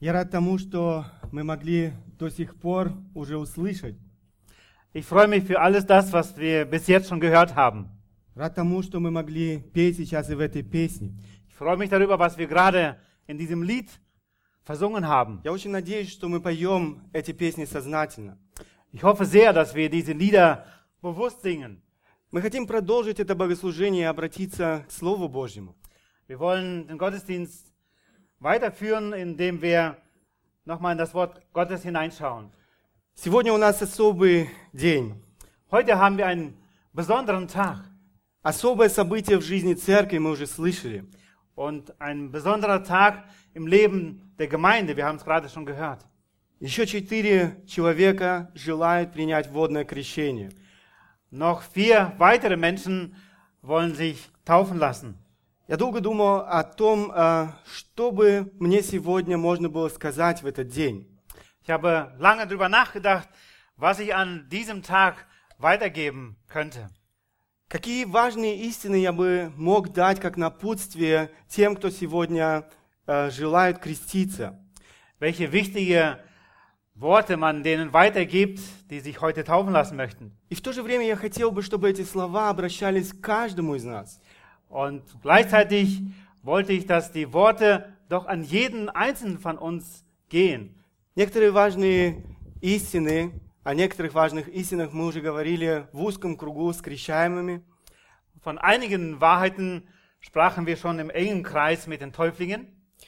Я рад тому, что мы могли до сих пор уже услышать. Ich freue mich für alles das, was wir bis jetzt schon gehört haben. Рад тому, что мы могли петь сейчас и в этой песне. Ich freue mich darüber, was wir gerade in diesem Lied versungen haben. Я очень надеюсь, что мы поем эти песни сознательно. Ich hoffe sehr, dass wir diese Lieder bewusst singen. Мы хотим продолжить это богослужение и обратиться к Слову Божьему. Wir wollen den Gottesdienst weiterführen, indem wir nochmal in das Wort Gottes hineinschauen. Сегодня у нас особый день. Heute haben wir einen besonderen Tag. Особое событие в жизни церкви мы уже слышали. Und ein besonderer Tag im Leben der Gemeinde, wir haben es gerade schon gehört. Еще 4 человека желают принять водное крещение. Noch 4 weitere Menschen wollen sich taufen lassen. Я долго думал о том, что бы мне сегодня можно было сказать в этот день. Ich habe lange darüber nachgedacht, was ich an diesem Tag weitergeben könnte. Какие важные истины я бы мог дать как напутствие тем, кто сегодня желает креститься. Welche wichtige Worte man denen weitergibt, die sich heute taufen lassen möchten. И в то же время я хотел бы, чтобы эти слова обращались к каждому из нас. Und gleichzeitig wollte ich, dass die Worte doch an jeden Einzelnen von uns gehen. Некоторые важные истины, о некоторых важных истинах мы уже говорили в узком кругу с крещаемыми. Von einigen Wahrheiten sprachen wir schon im engen Kreis mit den Täuflingen.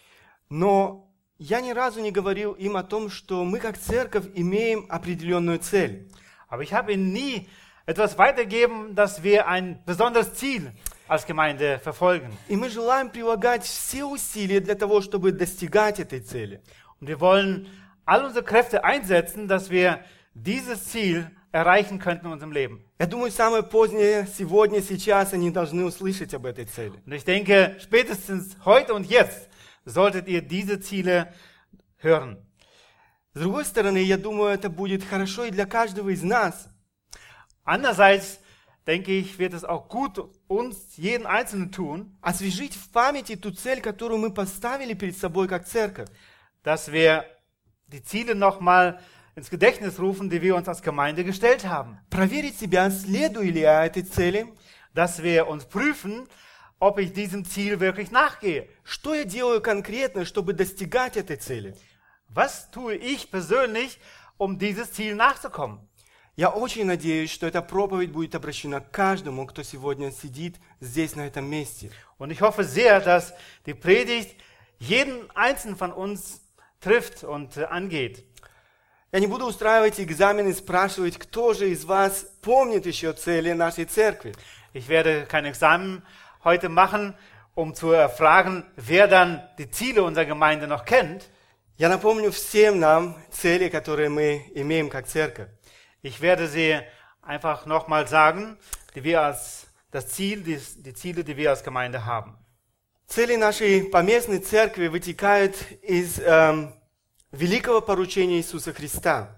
Но я ни разу не говорил им о том, что мы как церковь имеем определенную цель. Aber ich habe ihnen nie etwas weitergeben, dass wir ein besonderes Ziel als Gemeinde verfolgen. И мы желаем прилагать все усилия для того, чтобы достигать этой цели. Und wir wollen all unsere Kräfte einsetzen, dass wir dieses Ziel erreichen könnten in unserem Leben. Я думаю, самое позднее, сегодня, сейчас они должны услышать об этой цели. Und ich denke, spätestens heute und jetzt solltet ihr diese Ziele hören. С другой стороны, я думаю, это будет хорошо и для каждого из нас. Andererseits denke ich, wird es auch gut uns, jeden Einzelnen tun, Освежить в памяти ту цель, которую мы поставили перед собой как церковь. dass wir die Ziele nochmal ins Gedächtnis rufen, die wir uns als Gemeinde gestellt haben. Проверить себя, следую ли я этой цели. Dass wir uns prüfen, ob ich diesem Ziel wirklich nachgehe. Что я делаю конкретно, чтобы достигать этой цели? Was tue ich persönlich, um dieses Ziel nachzukommen? Я очень надеюсь, что эта проповедь будет обращена к каждому, кто сегодня сидит здесь, на этом месте. Und ich hoffe sehr, dass die Predigt jeden Einzelnen von uns trifft und angeht. Я не буду устраивать экзамены и спрашивать, кто же из вас помнит еще цели нашей церкви. Ich werde kein Examen heute machen, um zu erfragen, wer dann die Ziele unserer Gemeinde noch kennt. Я напомню всем нам цели, которые мы имеем как церковь. Ich werde sie einfach nochmal sagen, die wir als das Ziel, die Ziele, die wir als Gemeinde haben. Цели нашей поместной церкви вытекают из великого поручения Иисуса Христа.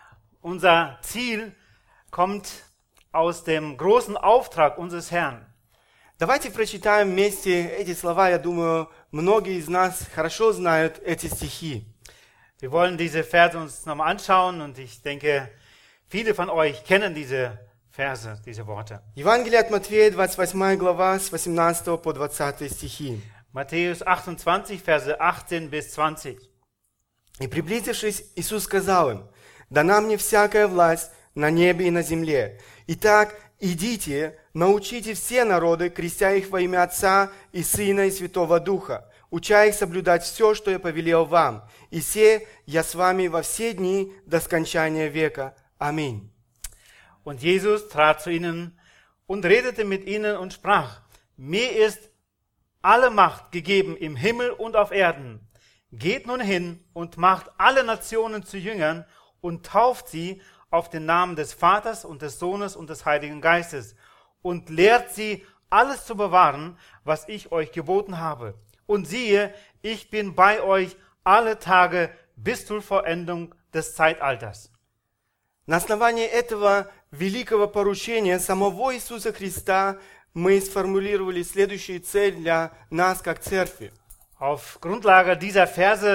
Unser Ziel kommt aus dem großen Auftrag unseres Herrn. Давайте прочитаем вместе эти слова. Я думаю, многие из нас хорошо знают эти стихи. Wir wollen diese Verse uns nochmal anschauen und ich denke, viele von euch kennen diese Verse, diese Worte. Евангелие от Матфея, 28 глава, с 18 по 20 стихи. Matthäus 28, Verse 18 bis 20. «И приблизившись, Иисус сказал им, дана мне всякая власть на небе и на земле. Итак, идите, научите все народы, крестя их во имя Отца и Сына и Святого Духа, уча их соблюдать все, что я повелел вам. И се я с вами во все дни до скончания века. Аминь». Und Jesus trat zu ihnen und redete mit ihnen und sprach, mir ist alle Macht gegeben im Himmel und auf Erden. Geht nun hin und macht alle Nationen zu Jüngern und tauft sie auf den Namen des Vaters und des Sohnes und des Heiligen Geistes und lehrt sie, alles zu bewahren, was ich euch geboten habe. Und siehe, ich bin bei euch alle Tage bis zur Vollendung des Zeitalters. На основании этого великого поручения самого Иисуса Христа мы сформулировали следующую цель для нас как церкви. Auf Grundlage dieser Verse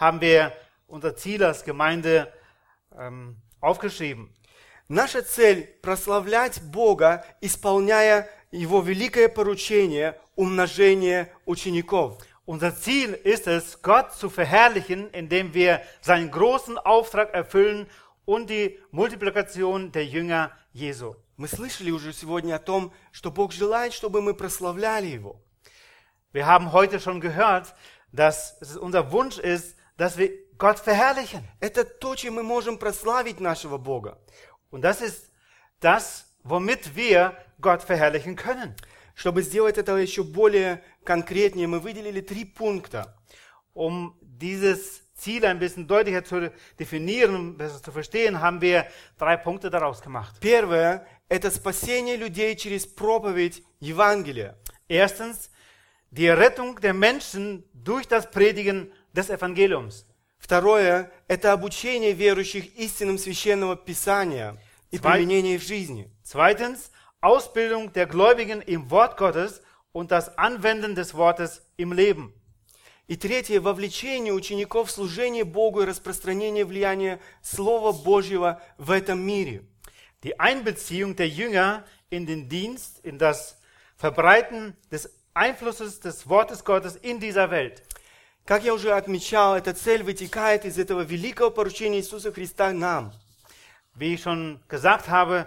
haben wir unser Ziel als Gemeinde aufgeschrieben. Наша цель – прославлять Бога, исполняя Его великое поручение умножения учеников. Unser Ziel ist es, Gott zu verherrlichen, indem wir seinen großen Auftrag erfüllen und die Multiplikation der Jünger Jesu. Мы слышали уже сегодня о том, что Бог желает, чтобы мы прославляли Его. Wir haben heute schon gehört, dass es unser Wunsch ist, dass wir Gott verherrlichen. Это то, чем мы можем прославить нашего Бога. Und das ist das, womit wir Gott verherrlichen können. Чтобы сделать это еще более конкретнее, мы выделили 3 пункта. Um dieses Ziel ein bisschen deutlicher zu definieren, besser zu verstehen, haben wir 3 Punkte daraus gemacht. Первое – это спасение людей через проповедь Евангелия. Erstens, die Rettung der Menschen durch das Predigen des Evangeliums. Второе – это обучение верующих истинам Священного Писания и применение в жизни. Zweitens, Ausbildung der Gläubigen im Wort Gottes und das Anwenden des Wortes im Leben. И третье – вовлечение учеников в служение Богу и распространение влияния Слова Божьего в этом мире. Die Einbeziehung der Jünger in den Dienst, in das Verbreiten des Einflusses des Wortes Gottes in dieser Welt. Как я уже отмечал, эта цель вытекает из этого великого поручения Иисуса Христа нам. Wie ich schon gesagt habe,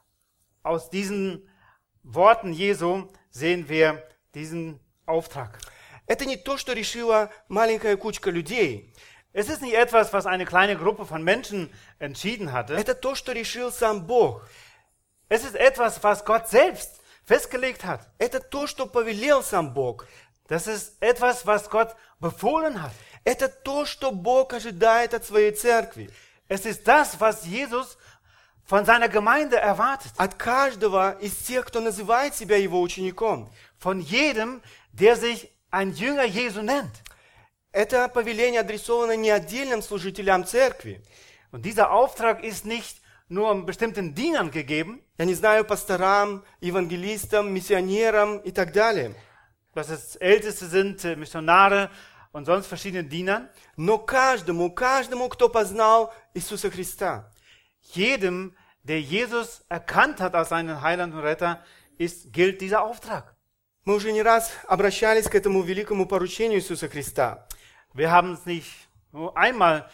aus diesen Worten Jesu sehen wir diesen Auftrag. Это не то, что решила маленькая кучка людей. Es ist nicht etwas, was eine kleine Gruppe von Menschen entschieden hatte. Это то, что решил сам Бог. Es ist etwas, was Gott selbst festgelegt hat. Это то, что повелел сам Бог. Das ist etwas, was Gott befohlen hat. Это то, что Бог ожидает от своей церкви. Es ist das, was Jesus von seiner Gemeinde erwartet. От каждого из тех, кто называет себя его учеником. Von jedem, der sich ein Jünger Jesu nennt. Это повеление адресовано не отдельным служителям церкви. Und dieser Auftrag ist nicht nur bestimmten Dienern gegeben. Я не знаю, пасторам, евангелистам, миссионерам и так далее. Dass es Älteste sind, Missionare und sonst verschiedene Dienern. Но каждому, кто познал Иисуса Христа. Jedem, der Jesus erkannt hat als seinen Heiland und Retter, gilt dieser Auftrag. Мы уже не раз обращались к этому великому поручению Иисуса Христа. Wir haben uns nicht nur einmal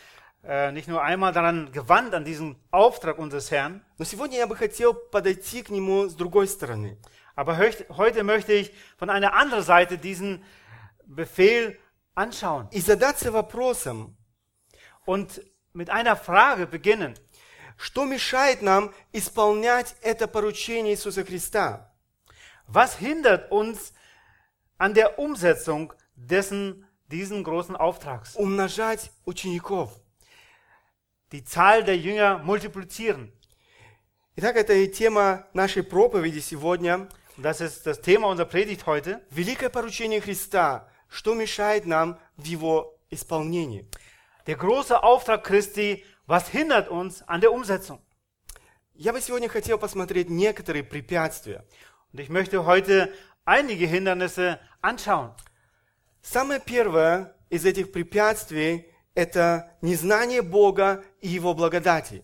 daran gewandt, an diesen Auftrag unseres Herrn. Но сегодня я бы хотел подойти к нему с другой стороны. Aber heute möchte ich von einer anderen Seite diesen Befehl anschauen. И задаться вопросом, und mit einer Frage beginnen. Что мешает нам исполнять это поручение Иисуса Христа? Was hindert uns an der Umsetzung diesen großen Auftrags? Умножать учеников. Die Zahl der Jünger multiplizieren. Итак, это и тема нашей проповеди сегодня. Das ist das Thema unserer Predigt heute. Великое поручение Христа. Что мешает нам в его исполнении? Der große Auftrag Christi, was hindert uns an der Umsetzung? Я бы сегодня хотел посмотреть некоторые препятствия. Und ich möchte heute einige Hindernisse anschauen. Самое первое из этих препятствий – это незнание Бога и Его благодати.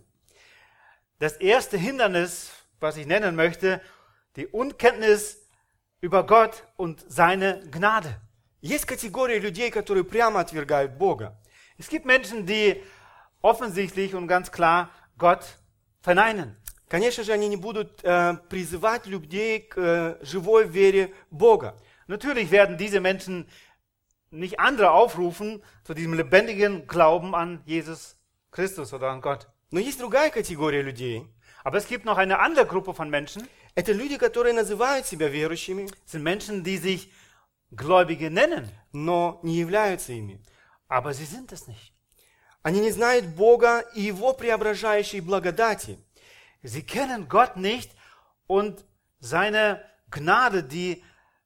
Das erste Hindernis, was ich nennen möchte, die Unkenntnis über Gott und seine Gnade. Есть категория людей, которые прямо отвергают Бога. Es gibt Menschen, die offensichtlich und ganz klar Gott verneinen. Конечно же, они не будут призывать людей к живой вере Бога. Natürlich werden diese Menschen nicht andere aufrufen zu diesem lebendigen Glauben an Jesus Christus oder an Gott. Но есть другая категория людей. Aber es gibt noch eine andere Gruppe von Menschen. Это люди, которые называют себя верующими. Es sind Menschen, die sich Gläubige nennen. Но не являются ими. Aber sie sind es nicht. Они не знают Бога и Его преображающей благодати. Sie kennen Gott nicht und seine Gnade, die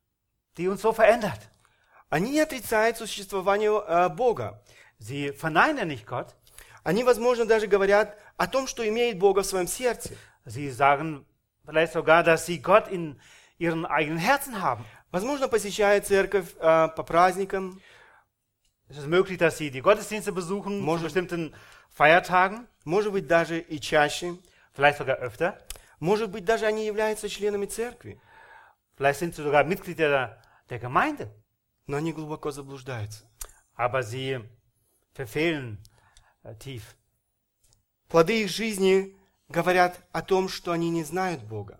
uns so verändert. Они не отрицают существование Бога. Sie verneinen nicht Gott. Они, возможно, даже говорят о том, что имеют Бога в своем сердце. Sie sagen vielleicht sogar, dass sie Gott in ihren eigenen Herzen haben. Возможно, посещают церковь по праздникам. Es ist möglich, dass sie die Gottesdienste besuchen zu Может- bestimmten Feiertagen, может быть, даже и чаще, vielleicht sogar öfter. может быть, даже они являются членами церкви, Vielleicht sind sie sogar Mitglieder der Gemeinde. но они глубоко заблуждаются. Aber sie verfehlen tief. Плоды их жизни говорят о том, что они не знают Бога.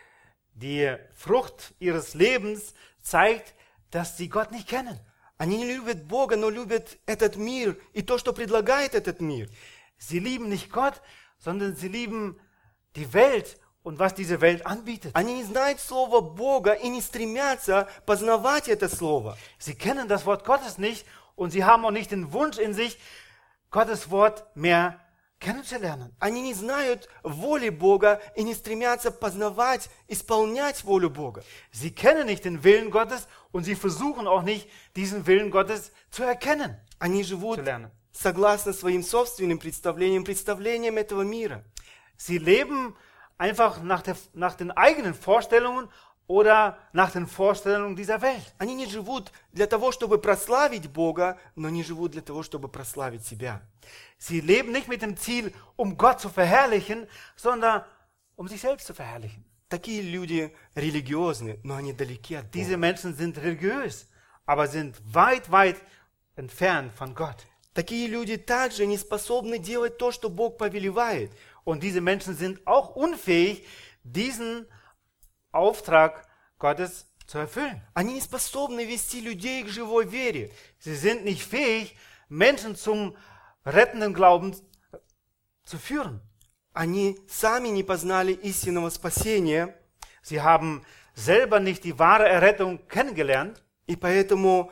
Die Frucht ihres Lebens zeigt, dass sie Gott nicht kennen. Они не любят Бога, но любят этот мир и то, что предлагает этот мир. Sie lieben nicht Gott, sondern sie lieben die Welt und was diese Welt anbietet. Они не знают слова Бога и не стремятся познавать это слово. Sie kennen das Wort Gottes nicht und sie haben auch nicht den Wunsch in sich, Gottes Wort mehr kennenzulernen. Они не знают воли Бога и не стремятся познавать, исполнять волю Бога. Sie kennen nicht den Willen Gottes und sie versuchen auch nicht, diesen Willen Gottes zu erkennen, Они zu живут lernen. согласно своим собственным представлениям этого мира. Sie leben einfach nach den eigenen Vorstellungen oder nach den Vorstellungen dieser Welt. Они не живут для того, чтобы прославить Бога, но не живут для того, чтобы прославить себя. Sie leben nicht mit dem Ziel, um Gott zu verherrlichen, sondern um sich selbst zu verherrlichen. Такие люди религиозны, но они далеки от Diese Бога. Menschen sind religiös, aber sind weit, weit entfernt von Gott. Такие люди также не способны делать то, что Бог повелевает. Und diese Menschen sind auch unfähig, diesen Auftrag Gottes zu erfüllen. Они не способны вести людей к живой вере. Sie sind nicht fähig, Menschen zum rettenden Glauben zu führen. Они сами не познали истинного спасения, Sie haben selber nicht die wahre Errettung kennengelernt и поэтому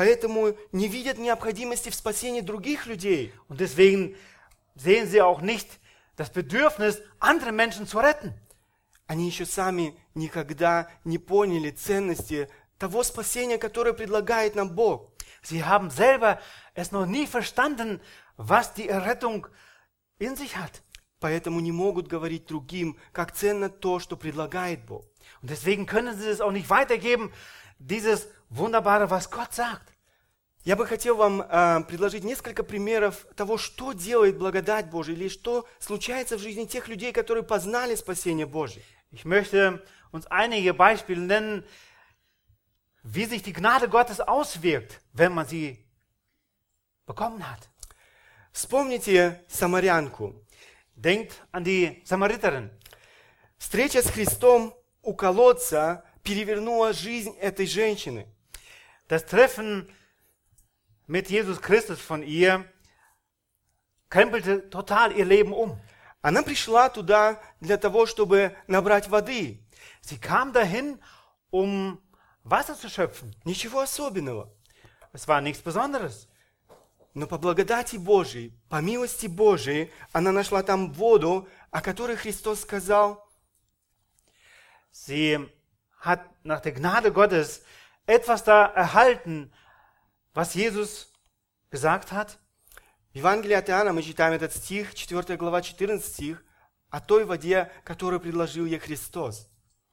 не видят необходимости в спасении других людей. und deswegen sehen sie auch nicht das Bedürfnis, andere Menschen zu retten. Они еще сами никогда не поняли ценности того спасения, которое предлагает нам Бог. Sie haben selber es noch nie verstanden, was die Errettung in sich hat. Поэтому не могут говорить другим, как ценно то, что предлагает Бог. Und deswegen können sie es auch nicht weitergeben, dieses Wunderbare, was Gott sagt. Я бы хотел вам предложить несколько примеров того, что делает благодать Божия, или что случается в жизни тех людей, которые познали спасение Божие. Ich möchte uns einige Beispiele nennen, wie sich die Gnade Gottes auswirkt, wenn man sie bekommen hat. Вспомните самарянку. Denkt an die Samariterin. Встреча с Христом у колодца перевернула жизнь этой женщины. Das Treffen mit Jesus Christus von ihr krempelte total ihr Leben um. Она пришла туда для того, чтобы набрать воды. Sie kam dahin, um Wasser zu schöpfen. Ничего особенного. Es war nichts Besonderes. Но по благодати Божией, по милости Божией, она нашла там воду, о которой Христос сказал: Sie hat nach der Gnade Gottes etwas da erhalten, was Jesus gesagt hat. В Евангелии от Иоанна мы читаем этот стих, 4 глава, 14 стих, о той воде, которую предложил ей Христос.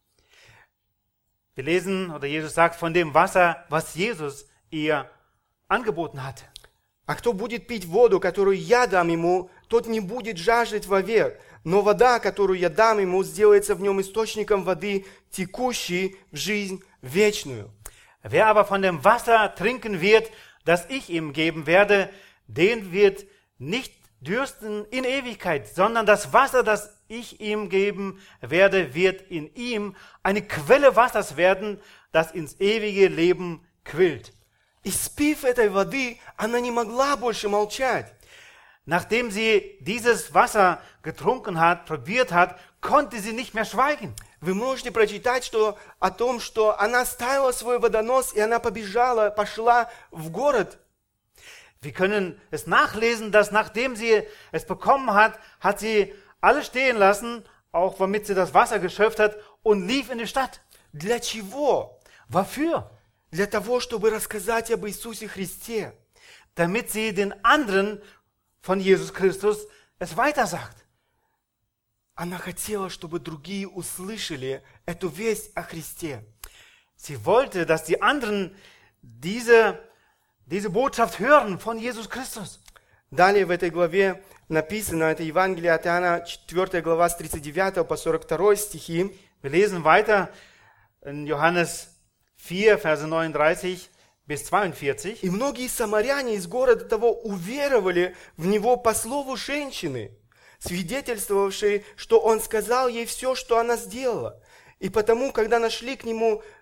Wir lesen, oder Jesus sagt, von dem Wasser, was Jesus ihr angeboten hat. А кто будет пить воду, которую я дам ему, тот не будет жаждать вовек, но вода, которую я дам ему, сделается в нем источником воды, текущей в жизнь вечную. Wer aber von dem Wasser trinken wird, das ich ihm geben werde, den wird nicht dürsten in Ewigkeit, sondern das Wasser, das ich ihm geben werde, wird in ihm eine Quelle Wassers werden, das ins ewige Leben quillt. И спив этой воды, она не могла больше молчать. Nachdem sie dieses Wasser getrunken hat, probiert hat, konnte sie nicht mehr schweigen. Вы можете прочитать о том, что она ставила свой водонос, и она пошла в город. Wir können es nachlesen, dass nachdem sie es bekommen hat, hat sie alles stehen lassen, auch womit sie das Wasser geschöpft hat, und lief in die Stadt. Для чего? Wofür? Для того, чтобы рассказать об Иисусе Христе. Damit sie den anderen von Jesus Christus es weitersagt. Она хотела, чтобы другие услышали эту весть о Христе. Sie wollte, dass die anderen diese diese Botschaft hören von Jesus Christus. Далее в этой главе написано, это Евангелие от Иоанна, 4 глава с 39 по 42 стихи. Wir lesen weiter in Johannes 4, Verse 39 bis 42. «И многие самаряне из города того уверовали в него по слову женщины, свидетельствовавшей, что он сказал ей все, что она сделала. И потому, когда пришли к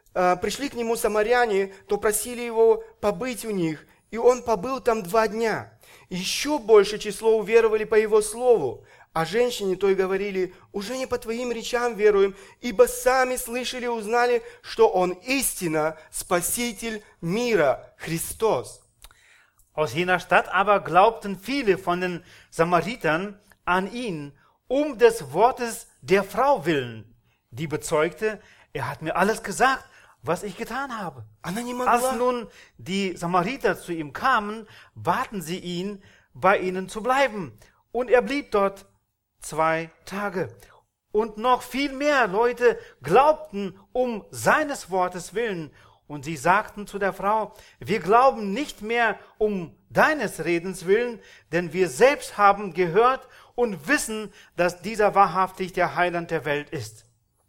нему самаряне, то просили его побыть у них, и он побыл там 2 дня. Еще большее число уверовали по его слову, а женщине той говорили: уже не по твоим речам веруем, ибо сами слышали и узнали, что он истинно Спаситель мира, Христос». Aus jener Stadt aber glaubten viele von den Samaritern an ihn, des Wortes der Frau willen, die bezeugte, er hat mir alles gesagt, was ich getan habe. Она не Als могла, nun die Samariter zu ihm kamen, baten sie ihn, bei ihnen zu bleiben. Und er blieb dort 2 Tage. Und noch viel mehr Leute glaubten seines Wortes willen. Und sie sagten zu der Frau: wir glauben nicht mehr deines Redens willen, denn wir selbst haben gehört und wissen, dass dieser wahrhaftig der Heiland der Welt ist.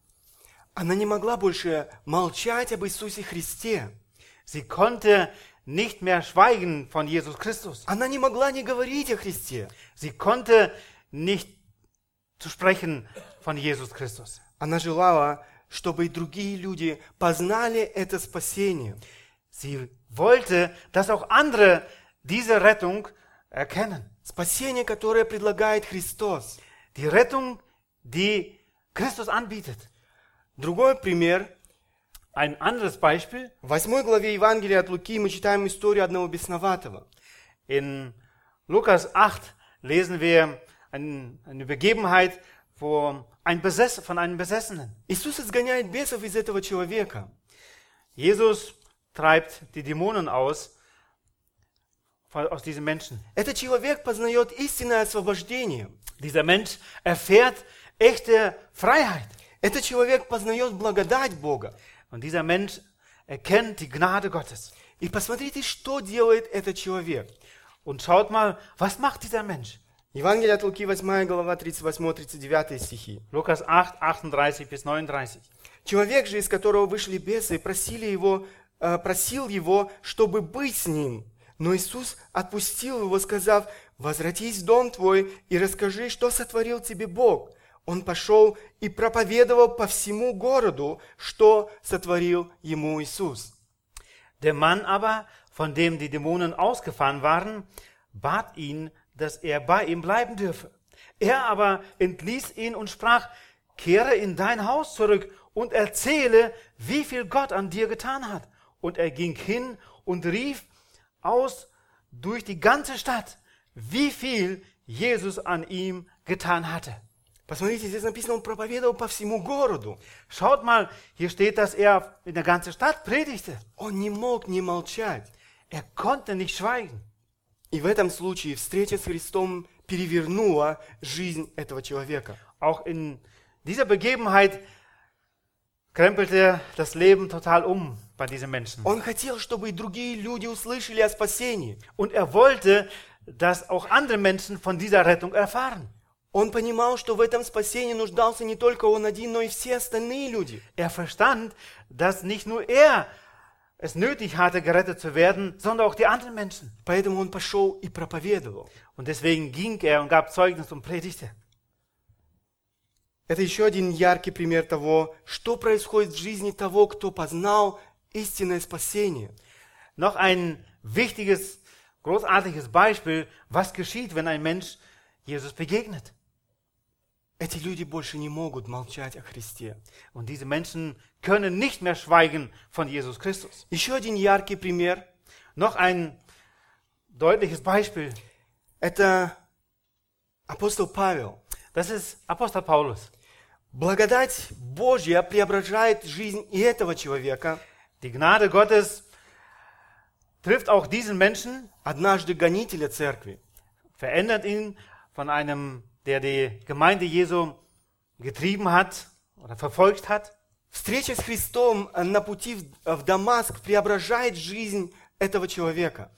она не могла больше молчать об Иисусе Христе. Sie konnte nicht mehr schweigen von Jesus Christus. Она не могла не говорить о Христе. Sie konnte nicht zu sprechen von Jesus Christus. Она желала, чтобы и другие люди познали это спасение. Sie wollte, dass auch andere diese Rettung erkennen. Спасение, которое предлагает Христос. Die Rettung, die Christus anbietet. Другой пример. Ein anderes Beispiel. В 8 главе Евангелия от Луки мы читаем историю одного бесноватого. In Lukas 8 lesen wir eine Begebenheit von einem Besessenen. Иисус изгоняет бесов из этого человека. Jesus treibt die Dämonen aus diesem Menschen. Этот человек познает истинное освобождение. Dieser Mensch erfährt echte Freiheit. Этот человек познает благодать Бога. Und dieser Mensch erkennt die Gnade Gottes. И посмотрите, что делает этот человек. Und schaut mal, was macht dieser Mensch? Евангелие от Луки, 8 глава, 38-39 стихи. Lukas 8, 38 bis 39. Человек же, из которого вышли бесы, просил его, чтобы быть с ним. Но Иисус отпустил его, сказав: возвратись в дом твой и расскажи, что сотворил тебе Бог. Он пошел и проповедовал по всему городу, что сотворил ему Иисус. Der Mann aber, von dem die Dämonen ausgefahren waren, bat ihn, dass er bei ihm bleiben dürfe. Er aber entließ ihn und sprach: kehre in dein Haus zurück und erzähle, wie viel Gott an dir getan hat. Und er ging hin und rief aus durch die ganze Stadt, wie viel Jesus an ihm getan hatte. Посмотрите, здесь написано, он проповедовал по всему городу. Schaut mal, hier steht, dass er in der ganzen Stadt predigte. Он не мог не молчать. Er konnte nicht schweigen. И в этом случае встреча с Христом перевернула жизнь этого человека. Auch in dieser Begebenheit krempelte das Leben total bei diesem Menschen. Он хотел, чтобы и другие люди услышали о спасении. Und er wollte, dass auch andere Menschen von dieser Rettung erfahren. Он понимал, что в этом спасении нуждался не только он один, но и все остальные люди. Er verstand, dass nicht nur er es nötig hatte, gerettet zu werden, sondern auch die anderen Menschen. Поэтому он пошел и проповедовал. Und deswegen ging er und gab Zeugnis und predigte. Это еще один яркий пример того, что происходит в жизни того, кто познал истинное спасение. Noch ein wichtiges, großartiges Beispiel, was geschieht, wenn ein Mensch Jesus begegnet. Эти люди больше не могут молчать о Христе. Und diese Menschen können nicht mehr schweigen von Jesus Christus. Еще один яркий пример. Noch ein deutliches Beispiel. Это апостол Павел. Das ist Apostel Paulus. Благодать Божья преображает жизнь и этого человека. Die Gnade Gottes trifft auch diesen Menschen, Однажды гонителя церкви. verändert ihn von einem, der die Gemeinde Jesu getrieben hat oder verfolgt hat. Встреча с Христом на пути в Дамаск преображает жизнь этого человека.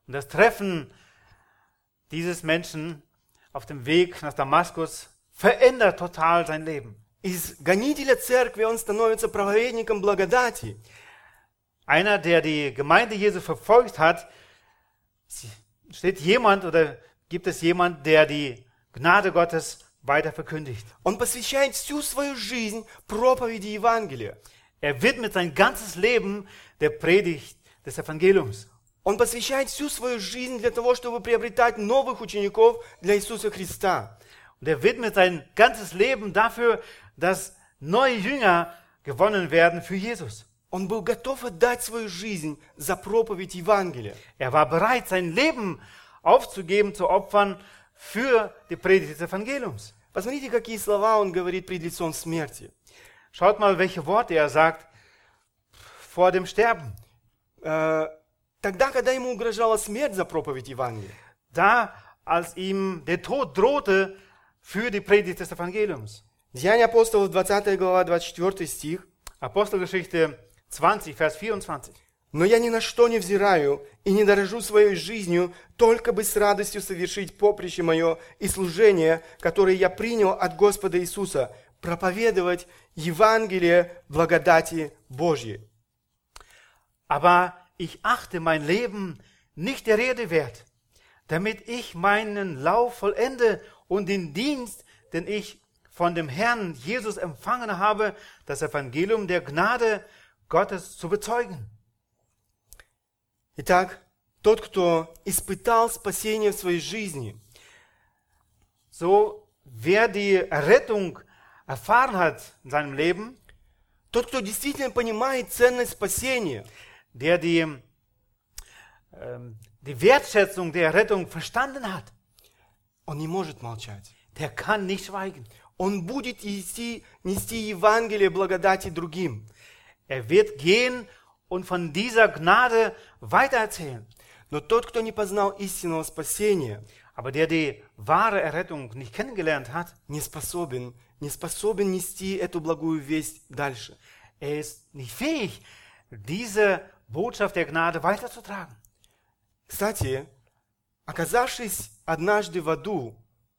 Und das Treffen dieses Menschen auf dem Weg nach Damaskus verändert total sein Leben. Из гонителя церкви он становится проповедником благодати. Einer, der die Gemeinde Jesu verfolgt hat, steht jemand oder gibt es jemand, der die Gnade Gottes weiter verkündigt. Он посвящает всю свою жизнь проповеди Евангелия. Er widmet sein ganzes Leben der Predigt des Evangeliums. Он посвящает всю свою жизнь для того, чтобы приобретать новых учеников для Иисуса Христа. Und er widmet sein ganzes Leben dafür, dass neue Jünger gewonnen werden für Jesus. Он был готов отдать свою жизнь за проповедь Евангелия. Er war bereit, sein Leben aufzugeben, zu opfern für die Predigt des Evangeliums. Посмотрите, какие слова он говорит пред лицом смерти. Schaut mal, welche Worte er sagt vor dem Sterben. Тогда, когда ему угрожала смерть за проповедь Евангелия. Da, als ihm der Tod drohte für die Predigt des Evangeliums. Деяния апостолов, 20 глава, 24 стих. Apostelgeschichte 20, Vers 24. «Но я ни на что не взираю и не дорожу своей жизнью, только бы с радостью совершить поприще мое и служение, которое я принял от Господа Иисуса, проповедовать Евангелие благодати Божьей». Aber ich achte mein Leben nicht der Rede wert, damit ich meinen Lauf vollende und den Dienst, den ich von dem Herrn Jesus empfangen habe, das Evangelium der Gnade Gottes zu bezeugen. Итак, тот, кто испытал спасение в своей жизни, So, wer die Errettung erfahren hat in seinem Leben, тот, кто действительно понимает ценность спасения, der die Wertschätzung der Errettung verstanden hat, он не может молчать. der kann nicht schweigen. Он будет нести Евангелие благодати другим. Er wird gehen und von dieser Gnade weitererzählen. Но тот, кто не познал истинного спасения, Aber der die wahre Errettung nicht kennengelernt hat, не способен нести эту благую весть дальше. er ist nicht fähig, diese Botschaft der Gnade weiterzutragen. Кстати, оказавшись однажды в аду,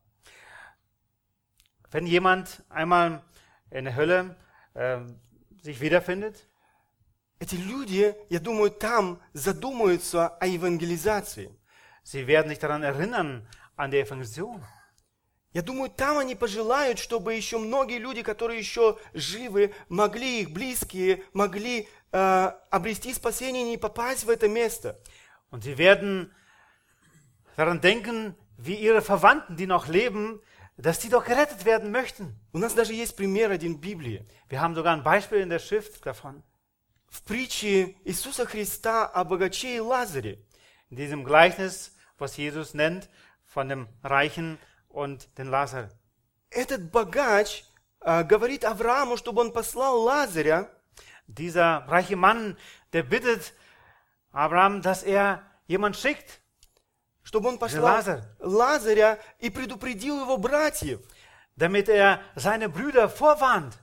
Wenn jemand einmal in der Hölle sich wiederfindet, эти люди, я думаю, там задумаются о евангелизации. sie werden sich daran erinnern, an die Evangelisation. Я думаю, там они пожелают, чтобы еще многие люди, которые еще живы, могли, их близкие, могли обрести спасение и не попасть в это место. Und sie werden daran denken, wie ihre Verwandten, die noch leben, dass die doch gerettet werden möchten. У нас даже есть пример один в Библии. Wir haben sogar ein Beispiel in der Schrift davon. В притче Иисуса Христа о богаче и Лазаре. In diesem Gleichnis, was Jesus nennt, von dem Reichen und den Lazar. Этот богач говорит Аврааму, чтобы он послал Лазаря, Dieser reiche Mann, der bittet Abraham, dass er jemand schickt, чтобы он послал Лазаря и предупредил его братьев. damit er seine Brüder vorwarnt.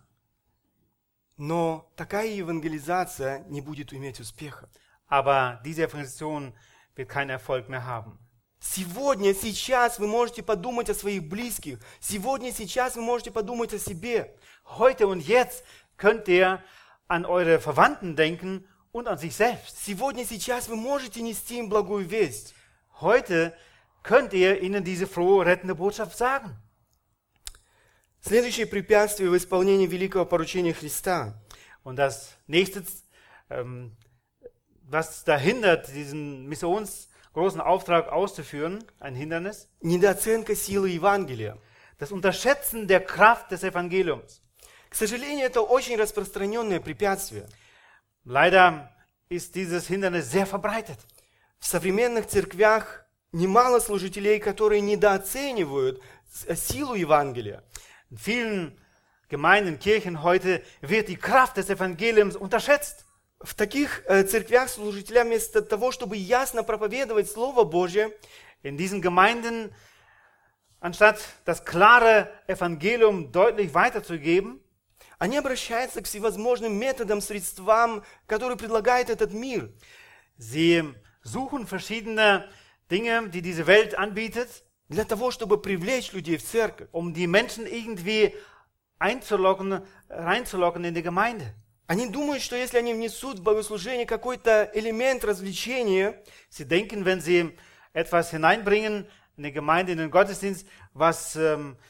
Но такая евангелизация не будет иметь успеха. Aber diese Evangelisation wird keinen Erfolg mehr haben. Сегодня, сейчас вы можете подумать о своих близких. Сегодня, сейчас вы можете подумать о себе. Heute und jetzt könnt ihr an eure Verwandten denken und an sich selbst. Сегодня, сейчас вы можете нести им благую весть. Heute könnt ihr ihnen diese frohe, rettende Botschaft sagen. Следующее препятствие в исполнении великого поручения Христа Und das nächste, was da hindert, diesen missionsgroßen Auftrag auszuführen, ein Hindernis, – недооценка силы Евангелия. das Unterschätzen der Kraft des Evangeliums. К сожалению, это очень распространенное препятствие. Leider ist dieses Hindernis sehr verbreitet. В современных церквях немало служителей, которые недооценивают силу Евангелия. In vielen Gemeinden, Kirchen heute wird die Kraft des Evangeliums unterschätzt. В таких церквях служителям вместо того, чтобы ясно проповедовать Слово Божье, In diesen Gemeinden, anstatt das klare Evangelium deutlich weiterzugeben, они обращаются к всевозможным методам, средствам, которые предлагает этот мир. sie suchen verschiedene Dinge, die diese Welt anbietet, для того, чтобы привлечь людей в церковь. um die Menschen irgendwie reinzulocken in die Gemeinde. Они думают, что если они внесут в богослужение какой-то элемент развлечения, Sie denken, wenn sie etwas hineinbringen in die Gemeinde, in den Gottesdienst, was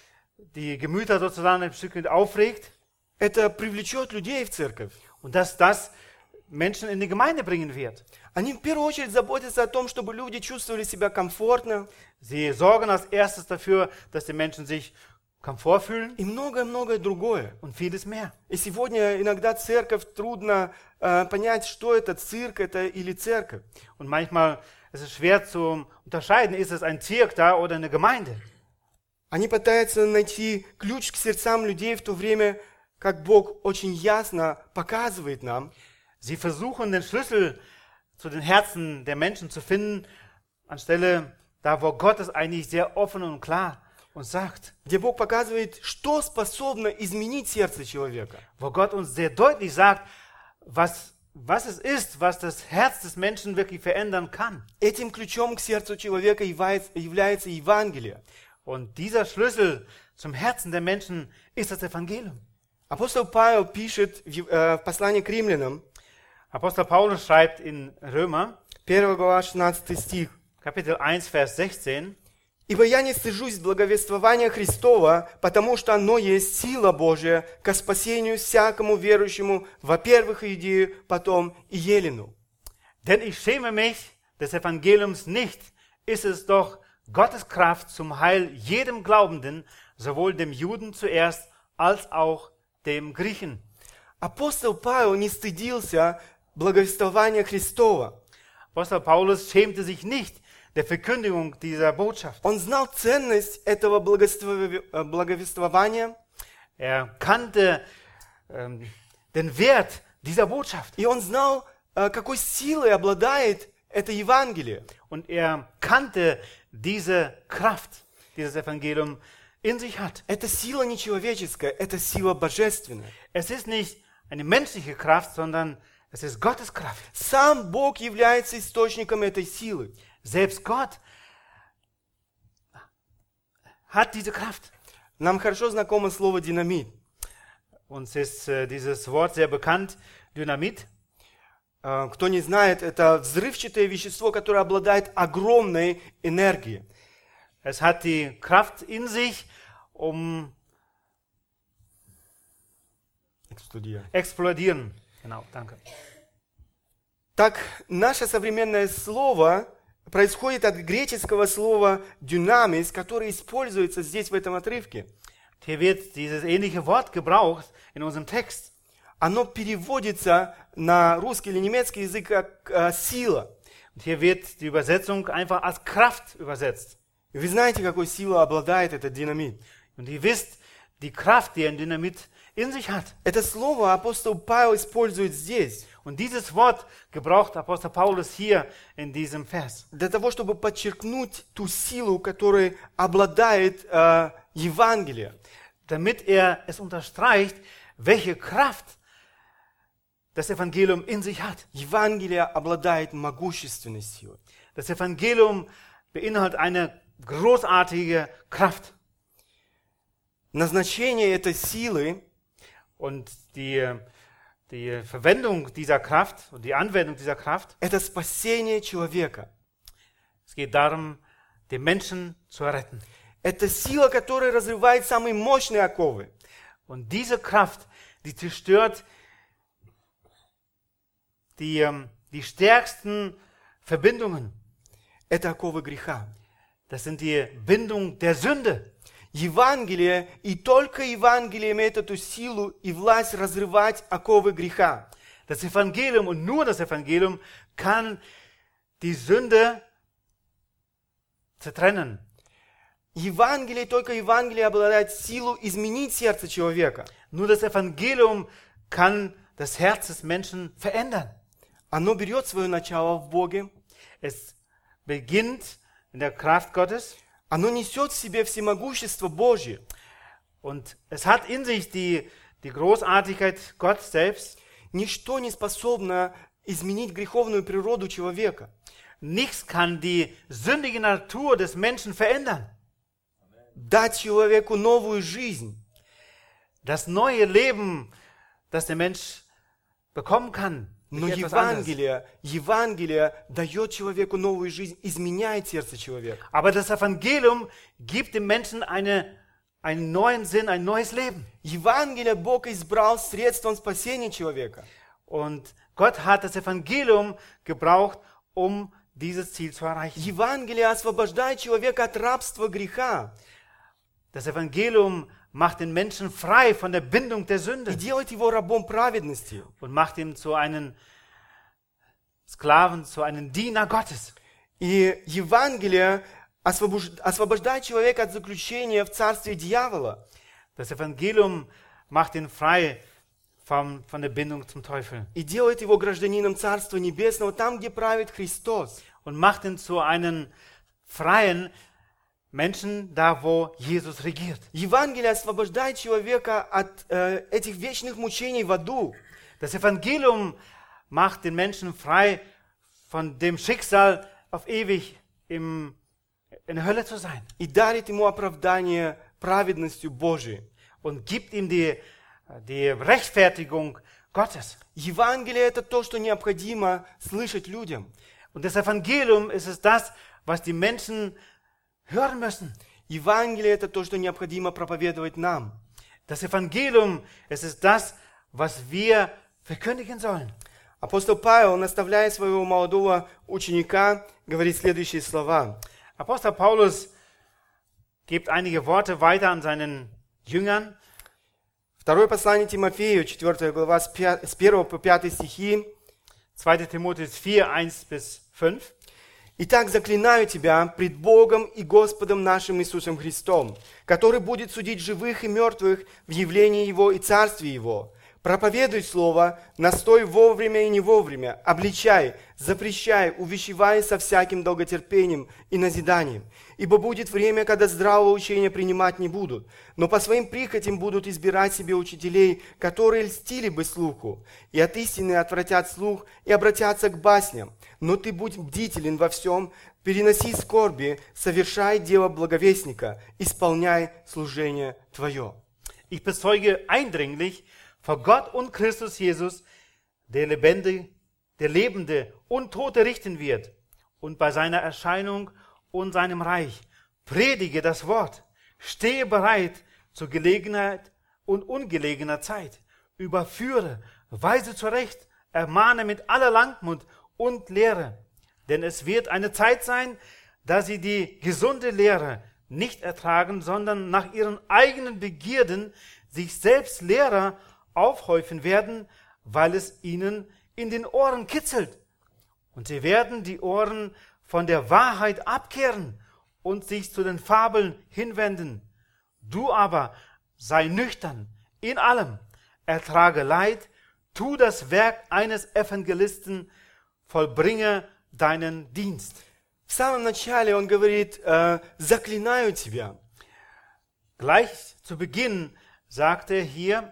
die Gemüter sozusagen ein Stück aufregt, это привлечет людей в церковь. und dass das Menschen in die Gemeinde bringen wird. Они в первую очередь заботятся о том, чтобы люди чувствовали себя комфортно Sie sorgen als erstes dafür, dass die Menschen sich Komfort fühlen и многое-многое другое. und vieles mehr. И сегодня иногда церковь трудно понять, что это цирк, это или церковь. Und manchmal ist es schwer zu unterscheiden, ist es ein Zirk da oder eine Gemeinde. Они пытаются найти ключ к сердцам людей в то время, как Бог очень ясно показывает нам, Sie versuchen, den Schlüssel zu den Herzen der Menschen zu finden, anstelle da, wo Gott es eigentlich sehr offen und klar uns sagt. где Бог показывает, что способно изменить сердце человека. Wo Gott uns sehr deutlich sagt, was es ist, was das Herz des Menschen wirklich verändern kann. Этим ключом к сердцу человека является Евангелие. Und dieser Schlüssel zum Herzen der Menschen ist das Evangelium. Апостол Павел пишет в послании к римлянам, Apostel Paulus schreibt in Römer, 1 глава, 16 стих, Kapitel 1, Vers 16, «Ибо я не стыжусь благовествования Христова, потому что оно есть сила Божия ко спасению всякому верующему, во-первых, Иудею, потом и Елену». Denn ich schäme mich des Evangeliums nicht, ist es doch Gottes Kraft zum Heil jedem Glaubenden, sowohl dem Juden zuerst als auch dem Griechen. Апостол Павел не стыдился благовествования Христова. Apostel Paulus schämte sich nicht der Verkündigung dieser Botschaft. Он знал ценность этого благовествования, Er kannte den Wert dieser Botschaft и он знал, какой силой обладает это Евангелие. und er kannte diese Kraft, die das Evangelium in sich hat. Это сила не человеческая, это сила божественная. Es ist nicht eine menschliche Kraft, sondern es ist Gottes Kraft. Сам Бог является источником этой силы. Selbst Gott hat diese Kraft. Нам хорошо знакомо слово «динамит». Uns ist dieses Wort sehr bekannt, Dynamit. Кто не знает, это взрывчатое вещество, которое обладает огромной энергией. Es hat die Kraft in sich, um explodieren. Genau, danke. Так, наше современное слово происходит от греческого слова «дюнамис», которое используется здесь в этом отрывке. Hier wird dieses ähnliche Wort gebraucht in unserem Text. Оно переводится на русский или немецкий язык как «сила». Und hier wird die Übersetzung einfach als Kraft übersetzt. Вы знаете, какой силой обладает этот динамит? Und ihr wisst, die Kraft, die ein Dynamit in sich hat. Это слово апостол Павел использует здесь, Und dieses Wort gebraucht Apostel Paulus hier in diesem Vers. для того, чтобы подчеркнуть ту силу, которой обладает Евангелие. Damit es unterstreicht, welche Kraft das Evangelium in sich hat. Евангелие обладает могущественной силой. Das Evangelium beinhaltet eine großartige Kraft. Назначение этой силы Und die Verwendung dieser Kraft und die Anwendung dieser Kraft, – это спасение человека. es geht darum, den Menschen zu retten. Это сила, которая разрывает самые мощные оковы. Und diese Kraft, die zerstört die stärksten Verbindungen. Это оковы греха. Das sind die Bindung der Sünde. Евангелие, и только Евангелие имеет эту силу и власть разрывать оковы греха. Das Evangelium und nur das Evangelium kann die Sünde zertrennen. Евангелие, только Евангелие обладает силой изменить сердце человека. Nur das Evangelium kann das Herz des Menschen verändern. Оно берет свое начало в Боге. Es beginnt in der Kraft Gottes. Оно несет в себе всемогущество Божье. Und es hat in sich die Großartigkeit Gott selbst. Ничто не способно изменить греховную природу человека. nichts kann die sündige Natur des Menschen verändern. Дать человеку новую жизнь. Das neue Leben, das der Mensch bekommen kann, Но durch etwas anderes. Евангелие дает человеку новую жизнь, изменяет сердце человека. Aber das Evangelium gibt dem Menschen einen neuen Sinn, ein neues Leben. Евангелие Бог избрал средством спасения человека. Und Gott hat das Evangelium gebraucht, um dieses Ziel zu erreichen. Евангелие освобождает человека от рабства греха Das Evangelium macht den Menschen frei von der Bindung der и Sünde делает его рабом праведности. und macht ihn zu einem Sklaven, zu einem Diener Gottes. И Евангелие освобождает человека от заключения в царстве дьявола. Das Evangelium macht ihn frei von der Bindung zum Teufel И делает его гражданином Царства Небесного, там, где правит Христос. und macht ihn zu einem freien Menschen, da wo Jesus regiert. Евангелие освобождает человека от этих вечных мучений в аду. Das Evangelium macht den Menschen frei von dem Schicksal, auf ewig in der Hölle zu sein. И дарит ему оправдание праведностью Божией. Und gibt ihm die Rechtfertigung Gottes. Евангелие – это то, что необходимо слышать людям. Und das Evangelium ist es das, was die Menschen hören müssen. Евангелие – это то, что необходимо проповедовать нам. Das Evangelium ist es das, was wir verkündigen sollen. Апостол Павел, наставляя своего молодого ученика, говорит следующие слова. Apostel Paulus gibt einige Worte weiter an seinen Jüngern. Второе послание Тимофею, 4 глава, с 1 по 5 стихи. 2. Timotheus 4, 1-5. «Итак, заклинаю тебя пред Богом и Господом нашим Иисусом Христом, который будет судить живых и мертвых в явлении Его и Царстве Его. Проповедуй Слово, настой вовремя и не вовремя, обличай, запрещай, увещевай со всяким долготерпением и назиданием. Ибо будет время, когда здравого учения принимать не будут, но по своим прихотям будут избирать себе учителей, которые льстили бы слуху, и от истины отвратят слух и обратятся к басням. Но ты будь бдителен во всем, переноси скорби, совершай дело благовестника, исполняй служение твое». Ich bezeuge eindringlich vor Gott und Christus Jesus, der Lebende und Tote richten wird, und bei seiner Erscheinung und seinem Reich. Predige das Wort, stehe bereit zur Gelegenheit und ungelegener Zeit. Überführe, weise zurecht, ermahne mit aller Langmut und Lehre. Denn es wird eine Zeit sein, da sie die gesunde Lehre nicht ertragen, sondern nach ihren eigenen Begierden sich selbst Lehrer aufhäufen werden, weil es ihnen in den Ohren kitzelt. Und sie werden die Ohren von der Wahrheit abkehren und sich zu den Fabeln hinwenden. Du aber sei nüchtern in allem, ertrage Leid, tu das Werk eines Evangelisten, vollbringe deinen Dienst. В самом начале он говорит, заклинаю тебя. Gleich zu Beginn sagt er hier,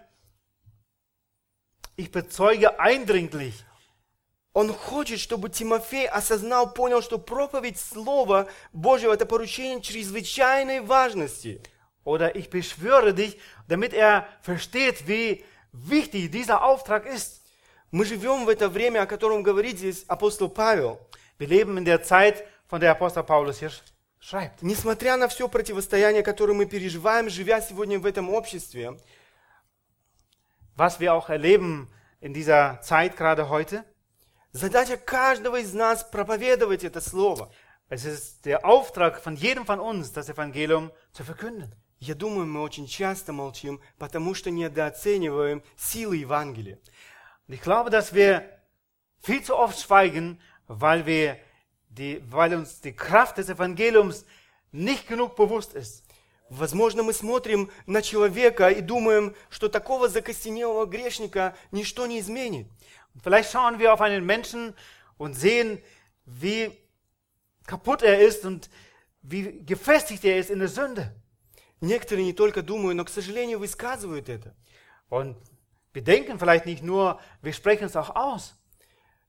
ich bezeuge eindringlich. Он хочет, чтобы Тимофей осознал, понял, что проповедь Слова Божьего – это поручение чрезвычайной важности. Oder ich beschwöre dich, damit er versteht, wie wichtig dieser Auftrag ist. Мы живем в это время, о котором говорит здесь апостол Павел. Wir leben in der Zeit, von der Apostel Paulus hier schreibt. Несмотря на все противостояние, которое мы переживаем, живя сегодня в этом обществе, Was wir auch erleben in dieser Zeit gerade heute, задача каждого из нас проповедовать это Слово. es ist der Auftrag von jedem von uns, das Evangelium zu verkünden. Я думаю, мы очень часто молчим, потому что недооцениваем силы Евангелия. Und ich glaube, dass wir viel zu oft schweigen, weil uns die Kraft des Evangeliums nicht genug bewusst ist. Возможно, мы смотрим на человека и думаем, что такого закостенелого грешника ничто не изменит. Und vielleicht schauen wir auf einen Menschen und sehen, wie kaputt er ist und wie gefestigt er ist in der Sünde. Некоторые не только думают, но, к сожалению, высказывают это. Und wir denken vielleicht nicht nur, wir sprechen es auch aus.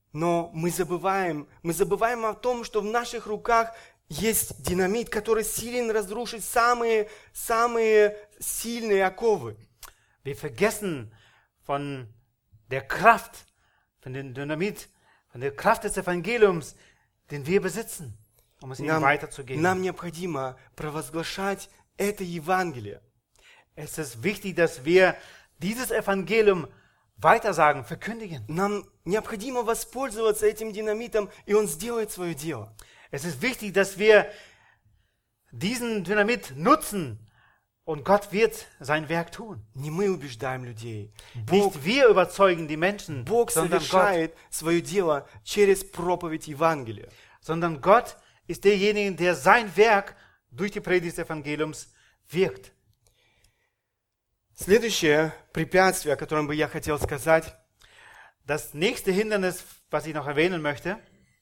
Но мы забываем о том, что в наших руках есть динамит, который силен разрушить самые сильные оковы. Wir vergessen von der Kraft, von dem Dynamit, von der Kraft des Evangeliums, den wir besitzen, um es ihnen weiterzugeben. Нам необходимо провозглашать это Евангелие. Es ist wichtig, dass wir dieses Evangelium weitersagen, verkündigen. Нам необходимо воспользоваться этим динамитом, и он сделает свое дело. Es ist wichtig, dass wir diesen Dynamit nutzen und Gott wird sein Werk tun. Не мы убеждаем людей. Nicht wir überzeugen die Menschen, Бог sondern Gott. совершает свое дело через проповедь Евангелия. Sondern Gott ist derjenige, der sein Werk durch die Predigt des Evangeliums wirkt. Следующее препятствие, о котором бы я хотел сказать, Das nächste Hindernis, was ich noch erwähnen möchte,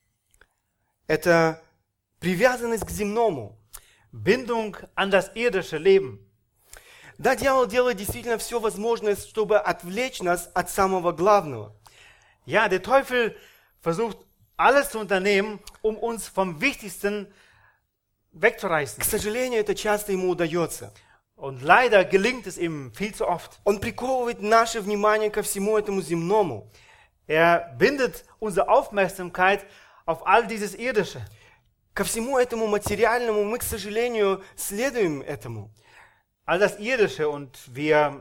это привязанность к земному. Bindung an das irdische Leben. Да, дьявол делает действительно все возможное, чтобы отвлечь нас от самого главного. Ja, der Teufel versucht alles zu unternehmen, um uns vom Wichtigsten wegzureißen. К сожалению, это часто ему удается. Und leider gelingt es ihm viel zu oft. Он приковывает наше внимание ко всему этому земному. Er bindet unsere Aufmerksamkeit auf all dieses Irdische. Ко всему этому материальному мы, к сожалению, следуем этому. All das Irdische und wir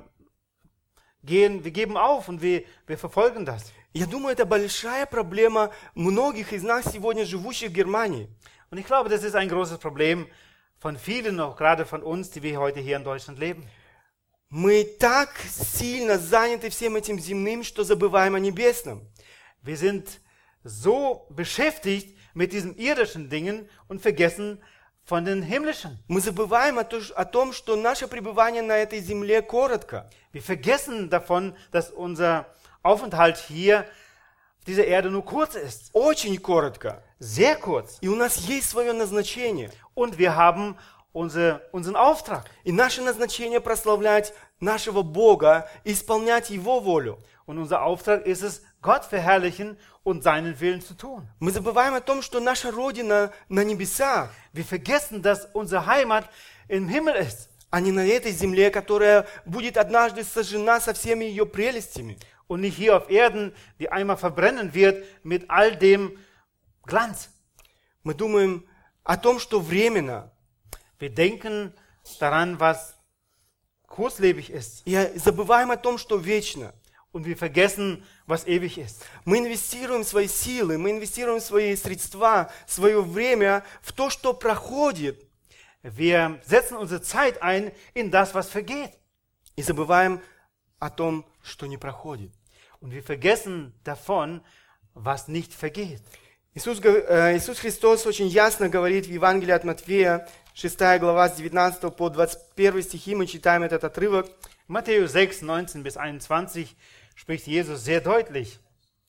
geben auf und wir verfolgen das. Я думаю, это большая проблема многих из нас сегодня, живущих в Германии. Und ich glaube, das ist ein großes Problem von vielen, auch gerade von uns, die wir heute hier in Deutschland leben. Мы так сильно заняты всем этим земным, что забываем о небесном. Wir sind so beschäftigt mit diesen irdischen Dingen und vergessen von den himmlischen. Мы забываем о том, что наше пребывание на этой земле коротко. Wir vergessen davon, dass unser Aufenthalt hier auf dieser Erde nur kurz ist. Очень коротко. Sehr kurz. И у нас есть свое назначение. Und wir haben unseren Auftrag. И наше назначение прославлять нашего Бога и исполнять Его волю. Und unser Auftrag ist es, Gott verherrlichen und seinen Willen zu tun. Мы забываем о том, что наша Родина на небесах, Wir vergessen, dass unsere Heimat im Himmel ist. а не на этой земле, которая будет однажды сожжена со всеми ее прелестями. Und nicht hier auf Erden, die einmal verbrennen wird mit all dem Glanz. Мы думаем о том, что временно. Wir denken daran, was kurzlebig ist. И забываем о том, что вечно. Und wir vergessen, was ewig ist. Мы инвестируем свои силы, мы инвестируем свои средства, свое время в то, что проходит. Wir setzen unsere Zeit ein in das, was vergeht. И забываем о том, что не проходит. Und wir vergessen davon, was nicht vergeht. Иисус Христос очень ясно говорит в Евангелии от Матфея, 6 глава, с 19 по 21 стихи, мы читаем этот отрывок. Matthäus 6, 19 bis 21 spricht Jesus sehr deutlich.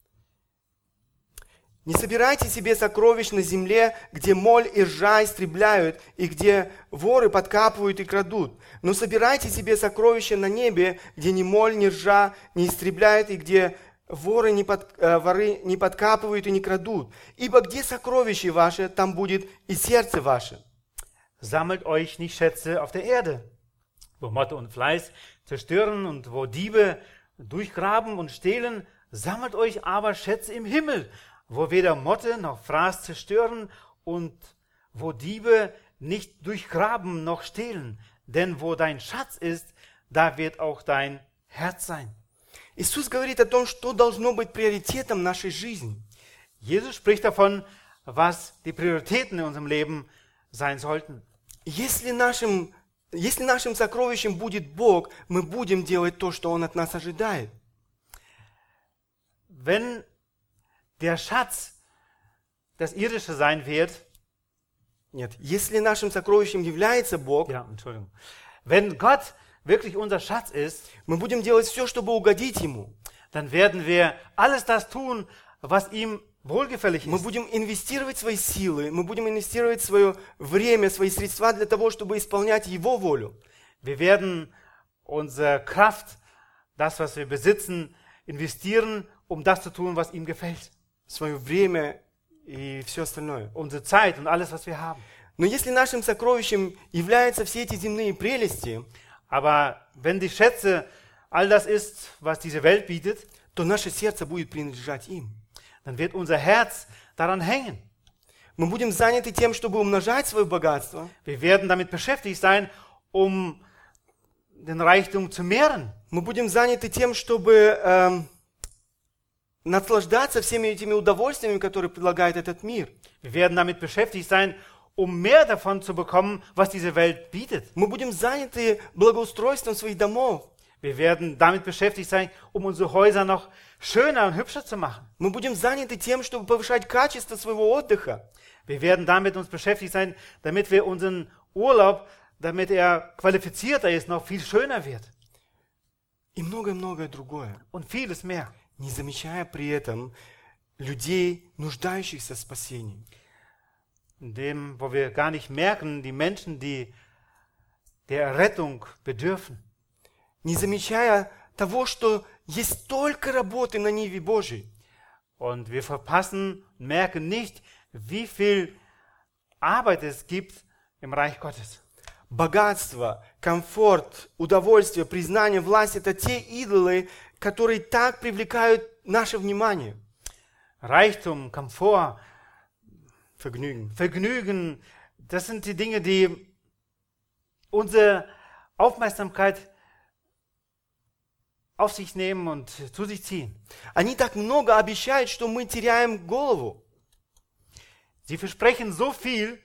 «Не собирайте себе сокровищ на земле, где моль и ржа истребляют, и где воры подкапывают и крадут. Но собирайте себе сокровища на небе, где ни моль, ни ржа не истребляют, и где воры не подкапывают и не крадут. Ибо где сокровище ваше, там будет и сердце ваше». Sammelt euch nicht Schätze auf der Erde, wo Motte und Fleiß zerstören und wo Diebe durchgraben und stehlen. Sammelt euch aber Schätze im Himmel, wo weder Motte noch Fraß zerstören und wo Diebe nicht durchgraben noch stehlen. Denn wo dein Schatz ist, da wird auch dein Herz sein. Иисус говорит о том, что должно быть приоритетом нашей жизни. Jesus spricht davon, was die Prioritäten in unserem Leben sein sollten. Если нашим сокровищем будет Бог, мы будем делать то, что Он от нас ожидает. Wenn der Schatz das Irdische sein wird, Нет, если нашим сокровищем является Бог, wenn Gott wirklich unser Schatz ist, мы будем делать все, чтобы угодить Ему. dann werden wir alles das tun, was ihm wohlgefällig Мы ist. будем инвестировать свои силы, мы будем инвестировать свое время, свои средства для того, чтобы исполнять Его волю. Wir werden unsere Kraft, das, was wir besitzen, investieren, um das zu tun, was ihm gefällt. свое время и все остальное. unsere Zeit und alles, was wir haben. Но если нашим сокровищем являются все эти земные прелести, Aber wenn die Schätze all das ist, was diese Welt bietet, то наше сердце будет принадлежать им. dann wird unser Herz daran hängen. Мы будем заняты тем, чтобы умножать свое богатство. Wir werden damit beschäftigt sein, um den Reichtum zu mehren. Мы будем заняты тем, чтобы наслаждаться всеми этими удовольствиями, которые предлагает этот мир. Wir werden damit beschäftigt sein, um mehr davon zu bekommen, was diese Welt bietet. Мы будем заняты благоустройством своих домов. Wir werden damit beschäftigt sein, um unsere Häuser noch schöner und hübscher zu machen. Мы будем заняты тем, чтобы повышать качество своего отдыха. Wir werden damit uns beschäftigt sein, damit wir unseren Urlaub, damit er qualifizierter ist, noch viel schöner wird. И многое-многое другое. Und vieles mehr. Не замечая при этом людей, нуждающихся в спасении. In dem, wo wir gar nicht merken, die Menschen, die der Errettung bedürfen. Не замечая того, что есть столько работы на Ниве Божьей. Und wir verpassen, merken nicht, wie viel Arbeit es gibt im Reich Gottes. Богатство, комфорт, удовольствие, признание, власть – это те идолы, которые так привлекают наше внимание. Reichtum, Komfort, Vergnügen. Vergnügen, das sind die Dinge, die unsere Aufmerksamkeit auf sich nehmen und zu sich ziehen. Они так много обещают, что мы теряем голову. Sie versprechen so viel,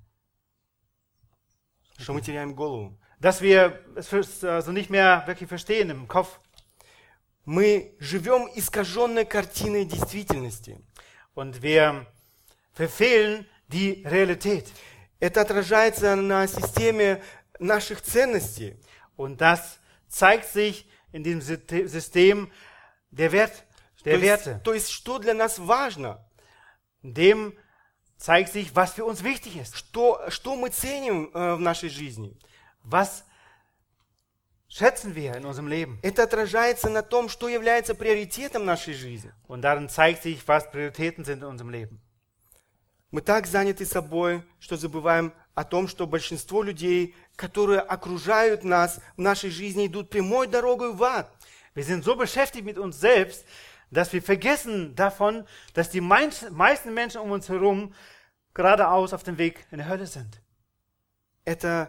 Что мы теряем голову. dass wir es also nicht mehr wirklich verstehen im Kopf. Мы живем искаженной картиной действительности. Und wir verfehlen die Realität. Это отражается на системе наших ценностей. Und das zeigt sich in diesem System der Werte. То есть, что для нас важно, In dem zeigt sich, was für uns wichtig ist. что мы ценим в нашей жизни. Was schätzen wir in unserem Leben? Это отражается на том, что является приоритетом нашей жизни. Und darin zeigt sich, was Prioritäten sind in unserem Leben. Мы так заняты собой, что забываем о том, что большинство людей, которые окружают нас в нашей жизни, идут прямой дорогой в ад. Wir sind so beschäftigt mit uns selbst, dass wir vergessen davon, dass die meisten Menschen um uns herum geradeaus auf dem Weg in die Hölle sind. Это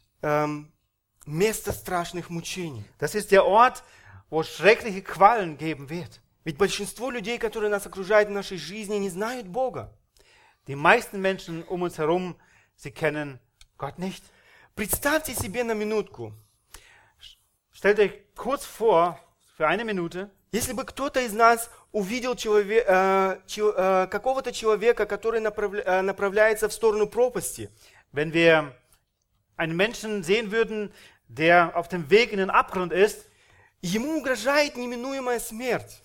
место страшных мучений. Das ist der Ort, wo es schreckliche Qualen geben wird. Ведь большинство людей, которые нас окружают в нашей жизни, не знают Бога. Die meisten Menschen um uns herum, sie kennen Gott nicht. Представьте себе на минутку, Stellt euch kurz vor, für eine Minute, если бы кто-то из нас увидел какого-то человека, который направляется в сторону пропасти, wenn wir einen Menschen sehen würden, der auf dem Weg in den Abgrund ist, ему угрожает неминуемая смерть.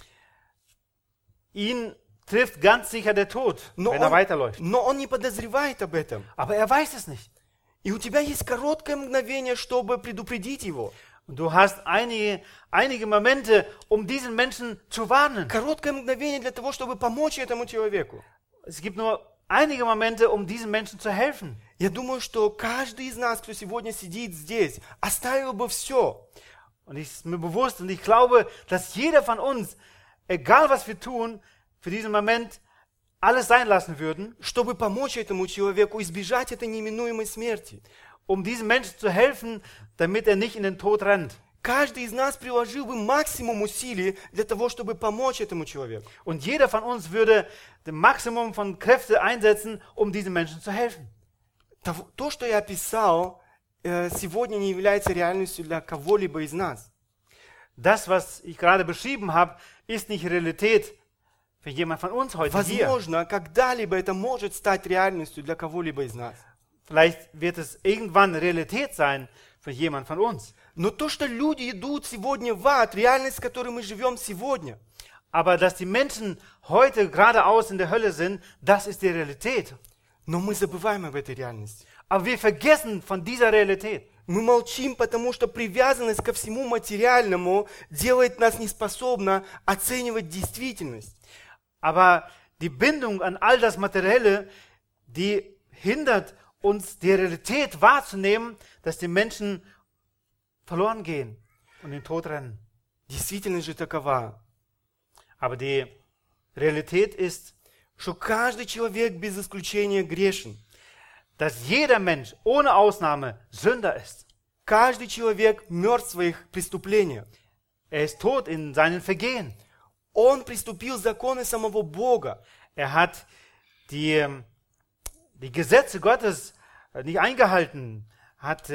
ihn trifft ganz sicher der Tod, wenn er weiterläuft. Но он не подозревает об этом. Aber er weiß es nicht. И у тебя есть короткое мгновение, чтобы предупредить его. Und du hast einige Momente, um diesen Menschen zu warnen. Короткое мгновение для того, чтобы помочь этому человеку. Es gibt nur einige Momente, um diesen Menschen zu helfen. Я думаю, что каждый из нас, кто сегодня сидит здесь, оставил бы все, Und ich ist mir bewusst und ich glaube, dass jeder von uns, egal was wir tun, für diesen Moment alles sein lassen würden, чтобы помочь этому человеку избежать этой неминуемой смерти. um diesem Menschen zu helfen, damit er nicht in den Tod rennt. Каждый из нас приложил бы максимум усилий для того, чтобы помочь этому человеку. Und jeder von uns würde das Maximum von Kräfte einsetzen, um diesem Menschen zu helfen. То, что я описал, сегодня не является реальностью для кого-либо из нас. Das, was ich gerade beschrieben habe, ist nicht Realität für jemand von uns heute hier. Возможно, когда-либо это может стать реальностью для кого-либо из нас. Vielleicht wird es irgendwann Realität sein für jemand von uns. Но то, что люди идут сегодня в ад, реальность, в которой мы живем сегодня, Aber dass die Menschen heute geradeaus in der Hölle sind, das ist die Realität. но мы забываем об этой реальности. Aber wir vergessen von dieser Realität. Мы молчим, потому что привязанность ко всему материальному делает нас неспособны оценивать действительность. Aber Die Bindung an all das Materielle, die hindert uns, die Realität wahrzunehmen, dass die Menschen verloren gehen und in den Tod rennen. Действительность же такова, Aber die Realität ist, что каждый человек без исключения грешен. dass jeder Mensch ohne Ausnahme Sünder ist. Каждый человек мертв в своих преступлениях. Er ist tot in seinen Vergehen. Он приступил законы самого Бога. Er hat die Gesetze Gottes nicht eingehalten, hat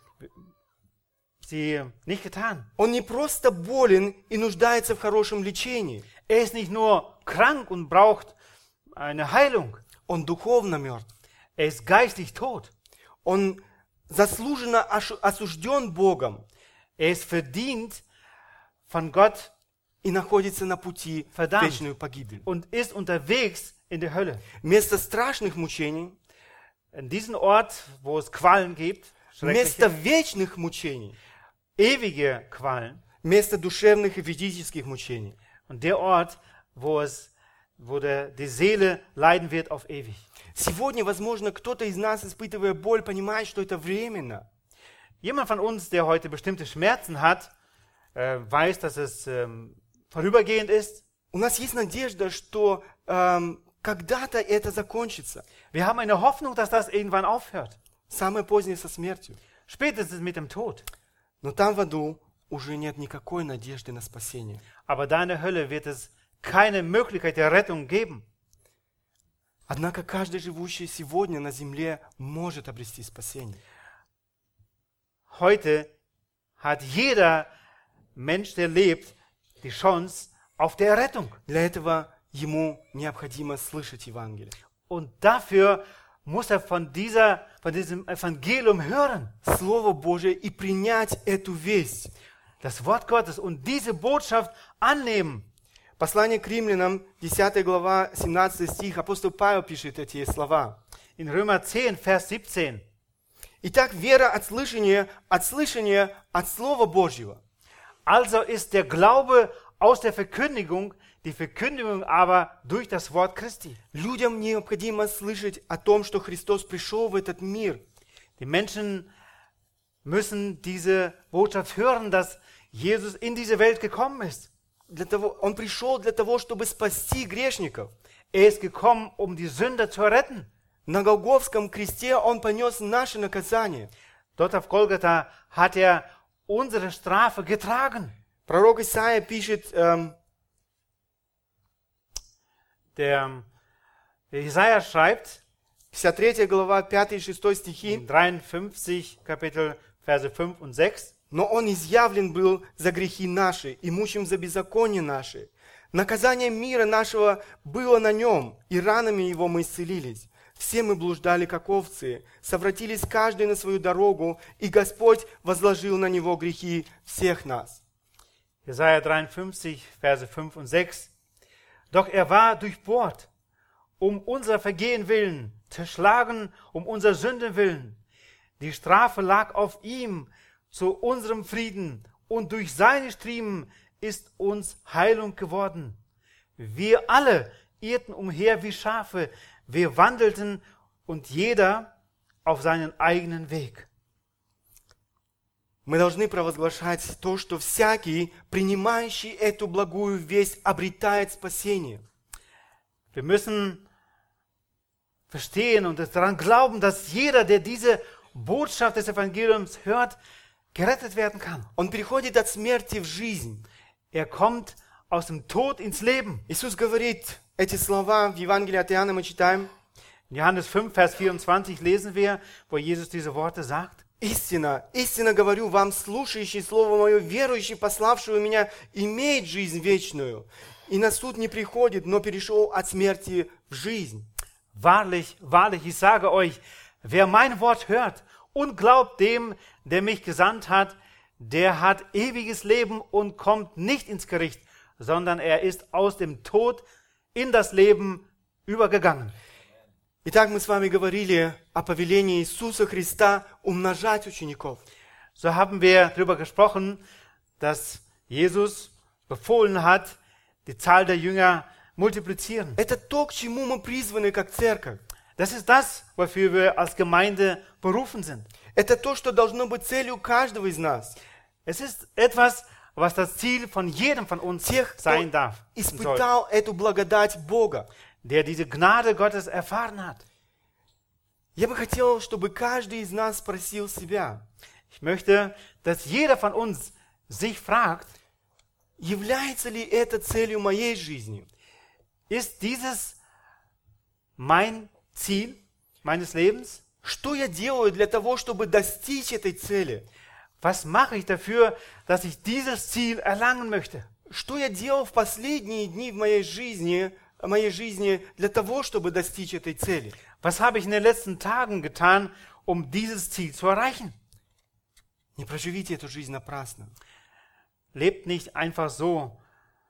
sie nicht getan. Он не просто болен и нуждается в хорошем лечении. Er ist nicht nur krank und braucht eine Heilung. Он духовно мертв. Er ist geistlich tot. Он заслуженно осужден Богом Er ist verdient von Gott и находится на пути в Verdammt. вечную погибель. und ist unterwegs in der Hölle. Вместо страшных мучений, In diesem Ort, wo es Qualen gibt, вместо schreckliche, вечных мучений, ewige Qualen, вместо душевных и физических мучений, und der Ort, wo die Seele leiden wird auf ewig. сегодня, возможно, кто-то из нас, испытывая боль, понимает, что это временно. Jemand von uns, der heute bestimmte Schmerzen hat, weiß, dass es vorübergehend ist. У нас есть надежда, что когда-то это закончится. Wir haben eine Hoffnung, dass das irgendwann aufhört. Самое позднее со смертью. Spätestens mit dem Tod. Но там в аду уже нет никакой надежды на спасение. Aber da in der Hölle wird es keine Möglichkeit der Rettung geben. Однако каждый живущий сегодня на земле может обрести спасение. Heute hat jeder Mensch, der lebt, die Chance auf der Rettung. Для этого ему необходимо слышать Евангелие. Und dafür muss er von diesem Evangelium hören. Слово Божие и принять эту весть. Das Wort Gottes und diese Botschaft annehmen. Послание к римлянам, 10 глава, 17 стих, апостол Павел пишет эти слова. In Römer 10, Vers 17. Итак, вера от слышания от Слова Божьего. Also ist der Glaube aus der Verkündigung, die Verkündigung aber durch das Wort Christi. Людям необходимо слышать о том, что Христос пришел в этот мир. Die Menschen müssen diese Botschaft hören, dass Jesus in diese Welt gekommen ist. Он пришел для того, чтобы спасти грешников. Er ist gekommen, um die Sünder zu retten. На Голгофском кресте Он понес наше наказание. Dort auf Golgatha hat er unsere Strafe getragen. Пророк Исаия пишет, Der Jesaja schreibt 53 глава, 5 и 6 стихи, in 53 Kapitel Verse 5 und 6. «Но Он изъявлен был за грехи наши, и мучим за беззаконие наши. Наказание мира нашего было на Нем, и ранами Его мы исцелились. Все мы блуждали, как овцы, совратились каждый на свою дорогу, и Господь возложил на Него грехи всех нас». Jesaja 53, Verse 5 und 6. Doch er war durchbohrt, um unser Vergehen willen, zerschlagen, um unser Sünde willen. Die Strafe lag auf ihm zu unserem Frieden, und durch seine Striemen ist uns Heilung geworden. Wir alle irrten umher wie Schafe, wir wandelten und jeder auf seinen eigenen Weg. Мы должны провозглашать то, что всякий, принимающий эту благую весть, обретает спасение. Wir müssen verstehen und daran glauben, dass jeder, der diese Botschaft des Evangeliums hört, gerettet werden kann. Он переходит от смерти в жизнь. Er kommt aus dem Tod ins Leben. Иисус говорит эти слова в Евангелии от Иоанна, мы читаем. In Johannes 5, Vers 24 lesen wir, wo Jesus diese Worte sagt. «Истина, истинно говорю вам, слушающий Слово Мое, верующий, пославшего Меня, имеет жизнь вечную, и на суд не приходит, но перешел от смерти в жизнь». Wahrlich, wahrlich, ich sage euch, wer mein Wort hört und glaubt dem, der mich gesandt hat, der hat ewiges Leben und kommt nicht ins Gericht, sondern er ist aus dem Tod in das Leben übergegangen. Итак, мы с вами говорили о повелении Иисуса Христа умножать учеников. So haben wir darüber gesprochen, dass Jesus befohlen hat, die Zahl der Jünger multiplizieren. Это то, к чему мы призваны как церковь. Das ist das, wofür wir als Gemeinde berufen sind. Это то, что должно быть целью каждого из нас. Es ist etwas, was das Ziel von jedem von uns Тех, sein кто darf und soll, испытал эту благодать Бога. der diese Gnade Gottes erfahren hat. Я бы хотел, чтобы каждый из нас спросил себя, Ich möchte, dass jeder von uns sich fragt, является ли это целью моей жизни? ist dieses mein Ziel meines Lebens? Что я делаю для того, чтобы достичь этой цели? Was mache ich dafür, dass ich dieses Ziel erlangen möchte? Что я делал в последние дни в моей жизни для того, чтобы достичь этой цели? Was habe ich in den letzten Tagen getan, um dieses Ziel zu erreichen? Не проживите эту жизнь напрасно. Lebt nicht einfach so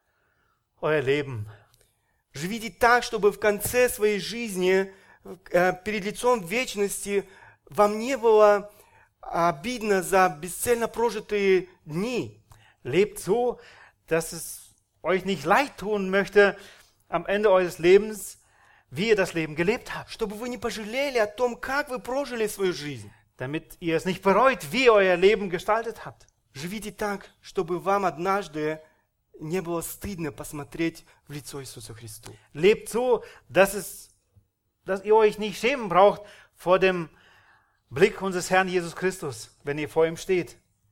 euer Leben. Живите так, чтобы в конце своей жизни, перед лицом вечности, вам не было обидно за бесцельно прожитые дни. Lebt so, dass es euch nicht leid tun möchte am Ende eures Lebens, wie ihr das Leben gelebt habt. Чтобы вы не пожалели о том, как вы прожили свою жизнь. Damit ihr es nicht bereut, wie ihr euer Leben gestaltet habt. Живите так, чтобы вам однажды не было стыдно посмотреть в лицо Иисусу Христу. Lebt so, dass ihr euch nicht schämen braucht vor dem Blick unseres Herrn Jesus Christus, wenn ihr vor ihm steht.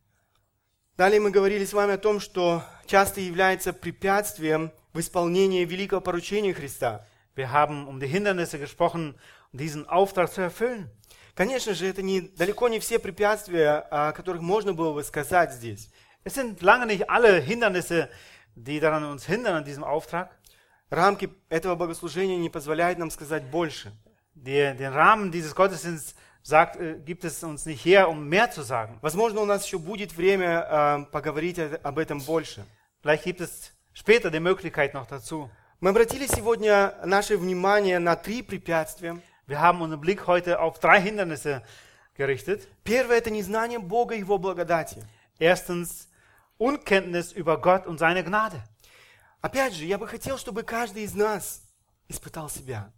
Далее мы говорили с вами о том, что часто является препятствием в исполнении великого поручения Христа. Wir haben um die Hindernisse gesprochen, um diesen Auftrag zu erfüllen. Конечно же, это далеко не все препятствия, о которых можно было бы сказать здесь. Es sind lange nicht alle Hindernisse, die daran uns hindern, an diesem Auftrag. Рамки этого богослужения не позволяют нам сказать больше. Den Rahmen dieses Gottesdienstes gibt es uns nicht her, um mehr zu sagen. Возможно, у нас еще будет время поговорить об этом больше. Vielleicht gibt es später die Möglichkeit noch dazu. Мы обратили сегодня наше внимание на 3 препятствия. Wir haben unseren Blick heute auf 3 Hindernisse gerichtet. Первое – это незнание Бога и Его благодати. Erstens, Unkenntnis über Gott und seine Gnade. Опять же, я бы хотел, чтобы каждый из нас испытал себя.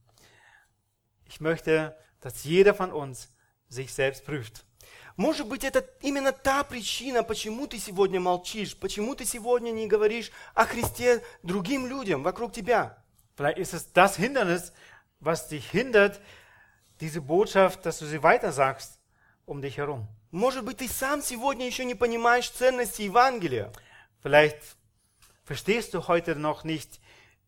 Ich möchte, dass jeder von uns sich selbst prüft. Может быть, это именно та причина, почему ты сегодня молчишь, почему ты сегодня не говоришь о Христе другим людям вокруг тебя. Vielleicht ist es das Hindernis, was dich hindert, diese Botschaft, dass du sie weitersagst, um dich herum. Может быть, ты сам сегодня еще не понимаешь ценности Евангелия. Vielleicht verstehst du heute noch nicht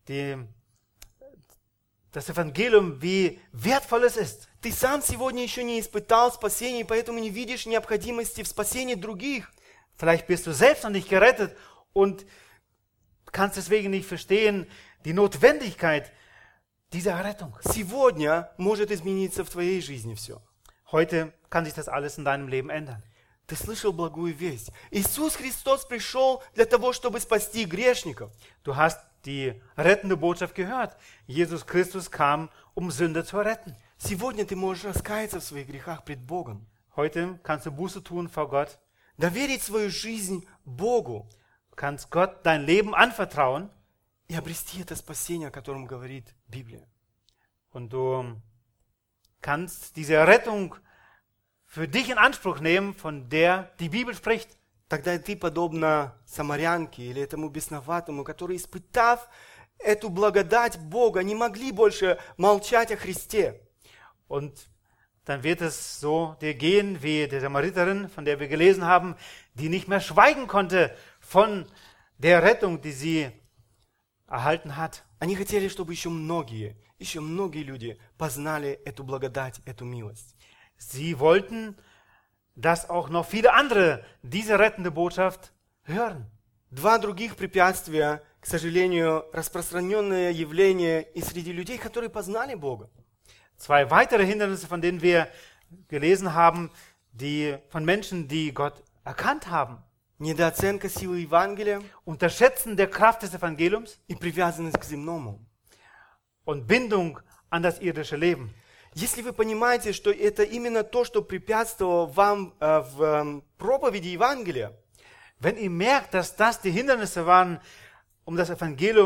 das Evangelium, wie wertvoll es ist. Ты сам сегодня еще не испытал спасения, и поэтому не видишь необходимости в спасении других. Vielleicht bist du selbst noch nicht gerettet und kannst deswegen nicht verstehen die Notwendigkeit dieser Errettung. Сегодня может измениться в твоей жизни все. Heute kann sich das alles in deinem Leben ändern. Ты слышал благую весть. Иисус Христос пришел для того, чтобы спасти грешников. Du hast die rettende Botschaft gehört. Jesus Christus kam, um Sünder zu retten. Сегодня ты можешь раскаяться в своих грехах пред Богом. Heute kannst du Buße tun vor Gott. Доверить свою жизнь Богу. Du kannst Gott dein Leben anvertrauen. И обрести это спасение, о котором говорит Библия. Und du kannst diese Errettung für dich in Anspruch nehmen, von der die Bibel spricht. Тогда ты, подобно самарянке или этому бесноватому, которые, испытав эту благодать Бога, не могли больше молчать о Христе. Und dann wird es so dir gehen wie der Samariterin, von der wir gelesen haben, die nicht mehr schweigen konnte von der Rettung, die sie erhalten hat. Они хотели, чтобы еще многие люди познали эту благодать, эту милость. Sie wollten, dass auch noch viele andere diese rettende Botschaft hören. 2 других препятствия, к сожалению, распространенное явление и среди людей, которые познали Бога. 2 weitere Hindernisse, von denen wir gelesen haben, von Menschen, die Gott erkannt haben. Недооценка силы Евангелия Unterschätzen der Kraft des Evangeliums и привязанность к земному. Und Bindung an das irdische Leben. Если вы понимаете, что это именно то, что препятствовало вам в проповеди Евангелия, wenn ihr merkt, dass das die Hindernisse waren, um das Evangelium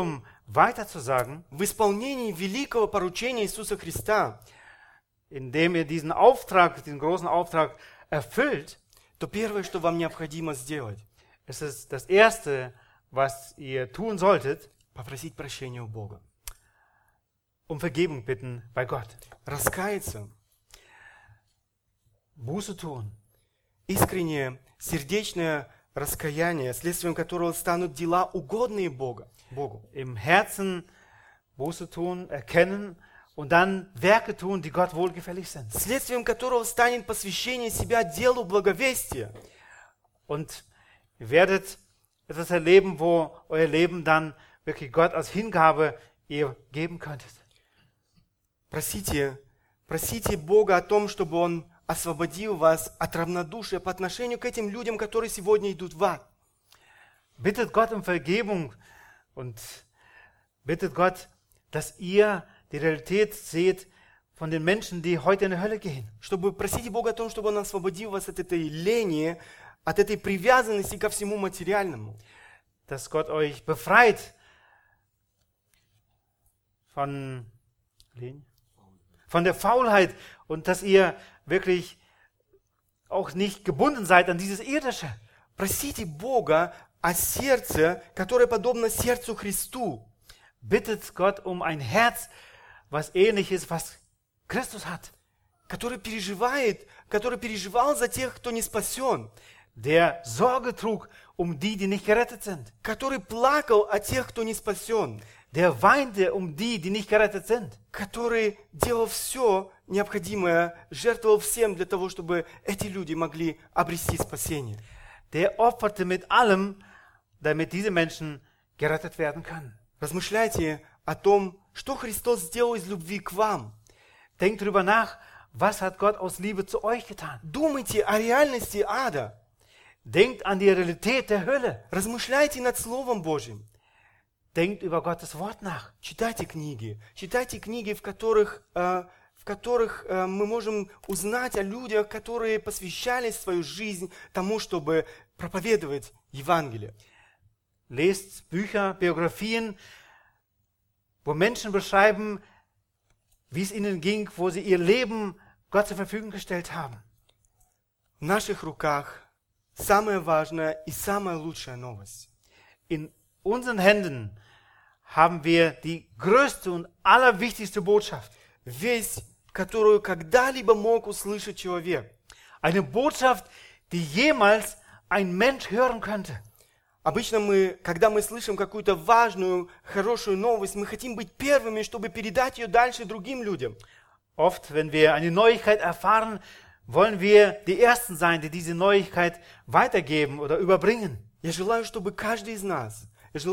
weiterzusagen, в исполнении великого поручения Иисуса Христа, indem ihr diesen Auftrag, diesen großen Auftrag erfüllt, то первое, что вам необходимо сделать, ist es das Erste, was ihr tun solltet, попросить прощения у Бога. Vergebung bitten bei Gott. Раскаяться, Buße tun. искреннее, сердечное раскаяние, следствием которого станут дела, угодные Богу. Im Herzen Buße tun, erkennen und dann Werke tun, die Gott wohlgefällig sind. Следствием которого станет посвящение себя делу благовестия. Und ihr werdet etwas erleben, wo euer Leben dann wirklich Gott als Hingabe ihr geben könntet. Просите Бога о том, чтобы Он освободил вас от равнодушия по отношению к этим людям, которые сегодня идут в ад. Bittet Gott um Vergebung und bittet Gott, dass ihr die Realität seht von den Menschen, die heute in die Hölle gehen. Чтобы просите Бога о том, чтобы Он освободил вас от этой лени, от этой привязанности ко всему материальному. Dass Gott euch befreit von der Faulheit und dass ihr wirklich auch nicht gebunden seid an dieses Irdische. Просите Бога о сердце, которое подобно сердцу Христу. Bittet Gott um ein Herz, was ähnlich ist, was Christus hat. Который переживал за тех, кто не спасен. Der Sorge trug um die, die nicht gerettet sind. Который плакал о тех, кто не спасен. Der weinte um die, die nicht gerettet sind. Который делал все необходимое, жертвовал всем для того, чтобы эти люди могли обрести спасение. Der opferte mit allem, damit diese Menschen gerettet werden können. Размышляйте о том, что Христос сделал из любви к вам. Denkt darüber nach, was hat Gott aus Liebe zu euch getan. Думайте о реальности ада. Denkt an die Realität der Hölle. Размышляйте над Словом Божьим. Denkt über Gottes Wort nach. Читайте книги, в которых мы можем узнать о людях, которые посвящали свою жизнь тому, чтобы проповедовать Евангелие. Lest Bücher, Biografien, wo Menschen beschreiben, wie es ihnen ging, wo sie ihr Leben Gott zur Verfügung gestellt haben. В наших руках самая важная и самая лучшая новость. In unseren Händen haben wir die größte und allerwichtigste Botschaft. Весть, которую когда-либо мог услышать человек. Eine Botschaft, die jemals ein Mensch hören könnte. Обычно когда мы слышим какую-то важную, хорошую новость, мы хотим быть первыми, чтобы передать ее дальше другим людям. Oft, wenn wir eine Neuigkeit erfahren, wollen wir die Ersten sein, die diese Neuigkeit weitergeben oder überbringen. Я желаю, чтобы каждый из нас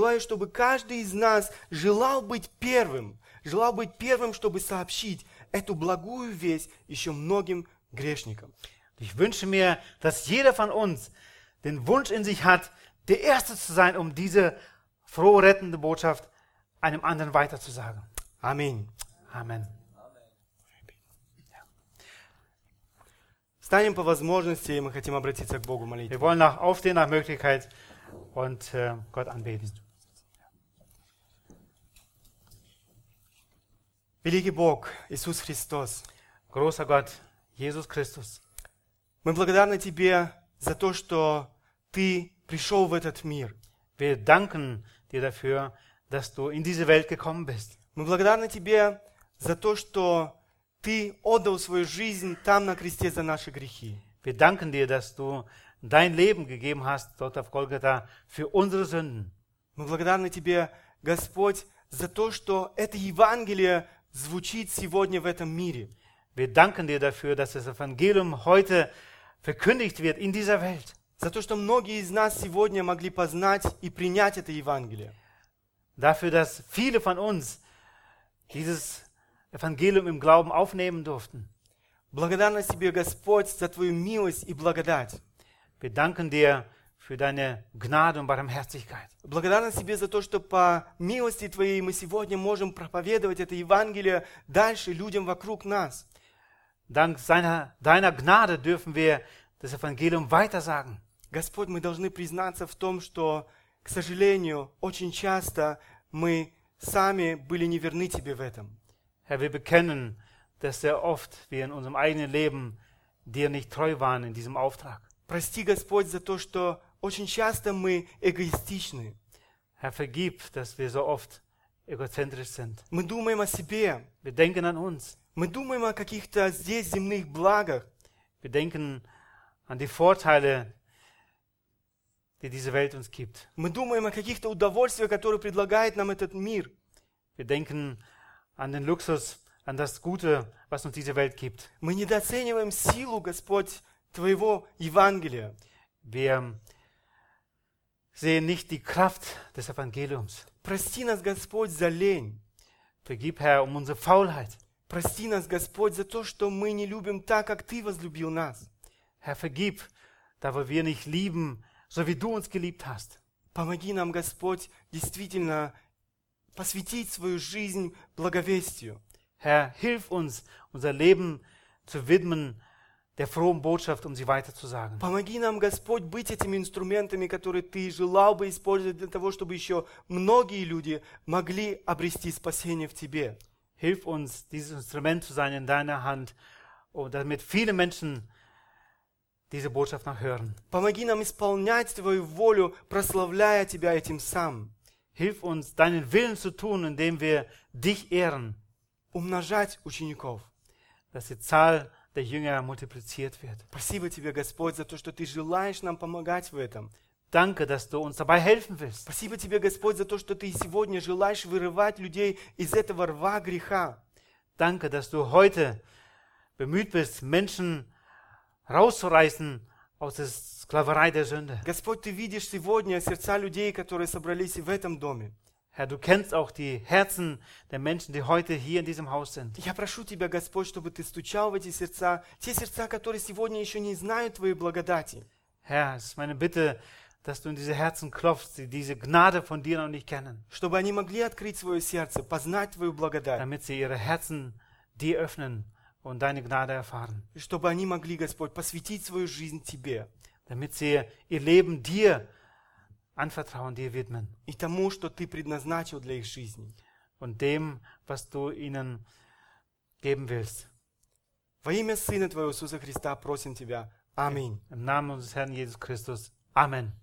желал быть первым, чтобы сообщить эту благую весть еще многим грешникам. Ich wünsche mir, dass jeder von uns den Wunsch in sich hat, der Erste zu sein, um diese frohe, rettende Botschaft einem anderen weiterzusagen. Аминь. Amen. Встанем по возможности, и мы хотим обратиться к Богу молитвой. Wir wollen aufstehen nach Möglichkeit und Gott anbeten. Великий Бог, Иисус Христос, Großer Gott, Jesus Christus, мы благодарны Тебе за то, что Ты пришел в этот мир. wir danken dir dafür, dass du in diese Welt gekommen bist. Мы благодарны Тебе за то, что Ты отдал свою жизнь там на кресте за наши грехи. Wir danken dir, dass du dein Leben gegeben hast, dort auf Golgatha, für unsere Sünden. Мы благодарны Тебе, Господь, за то, что это Евангелие звучит сегодня в этом мире. Wir danken dir dafür, dass das Evangelium heute verkündigt wird in dieser Welt. За то, что многие из нас сегодня могли познать и принять это Евангелие. Dafür, dass viele von uns dieses Evangelium im Glauben aufnehmen durften. Благодарность Тебе, Господь, за Твою милость и благодать. Wir danken dir für deine Gnade und Barmherzigkeit. Благодарность Тебе за то, что по милости Твоей мы сегодня можем проповедовать это Евангелие дальше людям вокруг нас. Dank deiner Gnade dürfen wir das Evangelium weitersagen. Господь, мы должны признаться в том, что, к сожалению, очень часто мы сами были неверны Тебе в этом. Herr, wir bekennen, dass sehr oft wir in unserem eigenen Leben dir nicht treu waren in diesem Auftrag. Прости, Господь, за то, что очень часто мы эгоистичны. Herr, vergib, dass wir so oft egozentrisch sind. Мы думаем о себе. Wir denken an uns. Мы думаем о каких-то здесь земных благах. Wir denken an die Vorteile, die diese Welt uns gibt. Мы думаем о каких-то удовольствиях, которые предлагает нам этот мир. Wir denken an den Luxus, an das Gute, was uns diese Welt gibt. Мы недооцениваем силу, Господь, Твоего Евангелия. Wir sehen nicht die Kraft des Evangeliums. Прости нас, Господь, за лень. Vergib, Herr, um unsere Faulheit. Прости нас, Господь, за то, что мы не любим так, как Ты возлюбил нас. Herr, vergib, da wo wir nicht lieben, so wie du uns geliebt hast. Помоги нам, Господь, действительно посвятить свою жизнь благовестию. Herr, hilf uns, unser Leben zu widmen der frohen Botschaft, um sie weiterzusagen. Помоги нам, Господь, быть этими инструментами, которые Ты желал бы использовать для того, чтобы еще многие люди могли обрести спасение в Тебе. Hilf uns, dieses Instrument zu sein in deiner Hand, damit viele Menschen diese Botschaft noch hören. Помоги нам исполнять Твою волю, прославляя Тебя этим самым. Hilf uns, deinen Willen zu tun, indem wir dich ehren, Умножать учеников. dass die Zahl der Jünger multipliziert wird. Спасибо Тебе, Господь, за то, что Ты желаешь нам помогать в этом. Danke, dass du uns dabei helfen willst. Спасибо Тебе, Господь, за то, что Ты сегодня желаешь вырывать людей из этого рва греха. Danke, dass du heute bemüht bist, Menschen rauszureißen aus der Sklaverei der Sünde. Господь, Ты видишь сегодня сердца людей, которые собрались в этом доме. Herr, du kennst auch die Herzen der Menschen, die heute hier in diesem Haus sind. Я прошу Тебя, Господь, чтобы Ты стучал в эти сердца, те сердца, которые сегодня еще не знают Твоей благодати. Herr, es ist meine Bitte, dass du in diese Herzen klopfst, die diese Gnade von dir noch nicht kennen, Чтобы они могли открыть свое сердце, познать Твою благодать. damit sie ihre Herzen dir öffnen und deine Gnade erfahren, И чтобы они могли, Господь, посвятить свою жизнь Тебе damit sie ihr Leben dir anvertrauen, dir widmen и тому, что Ты предназначил для их жизни. und dem, was du ihnen geben willst. Во имя Сына Твоего Иисуса Христа просим Тебя. Аминь. Im Namen unseres Herrn Jesus Christus. Amen.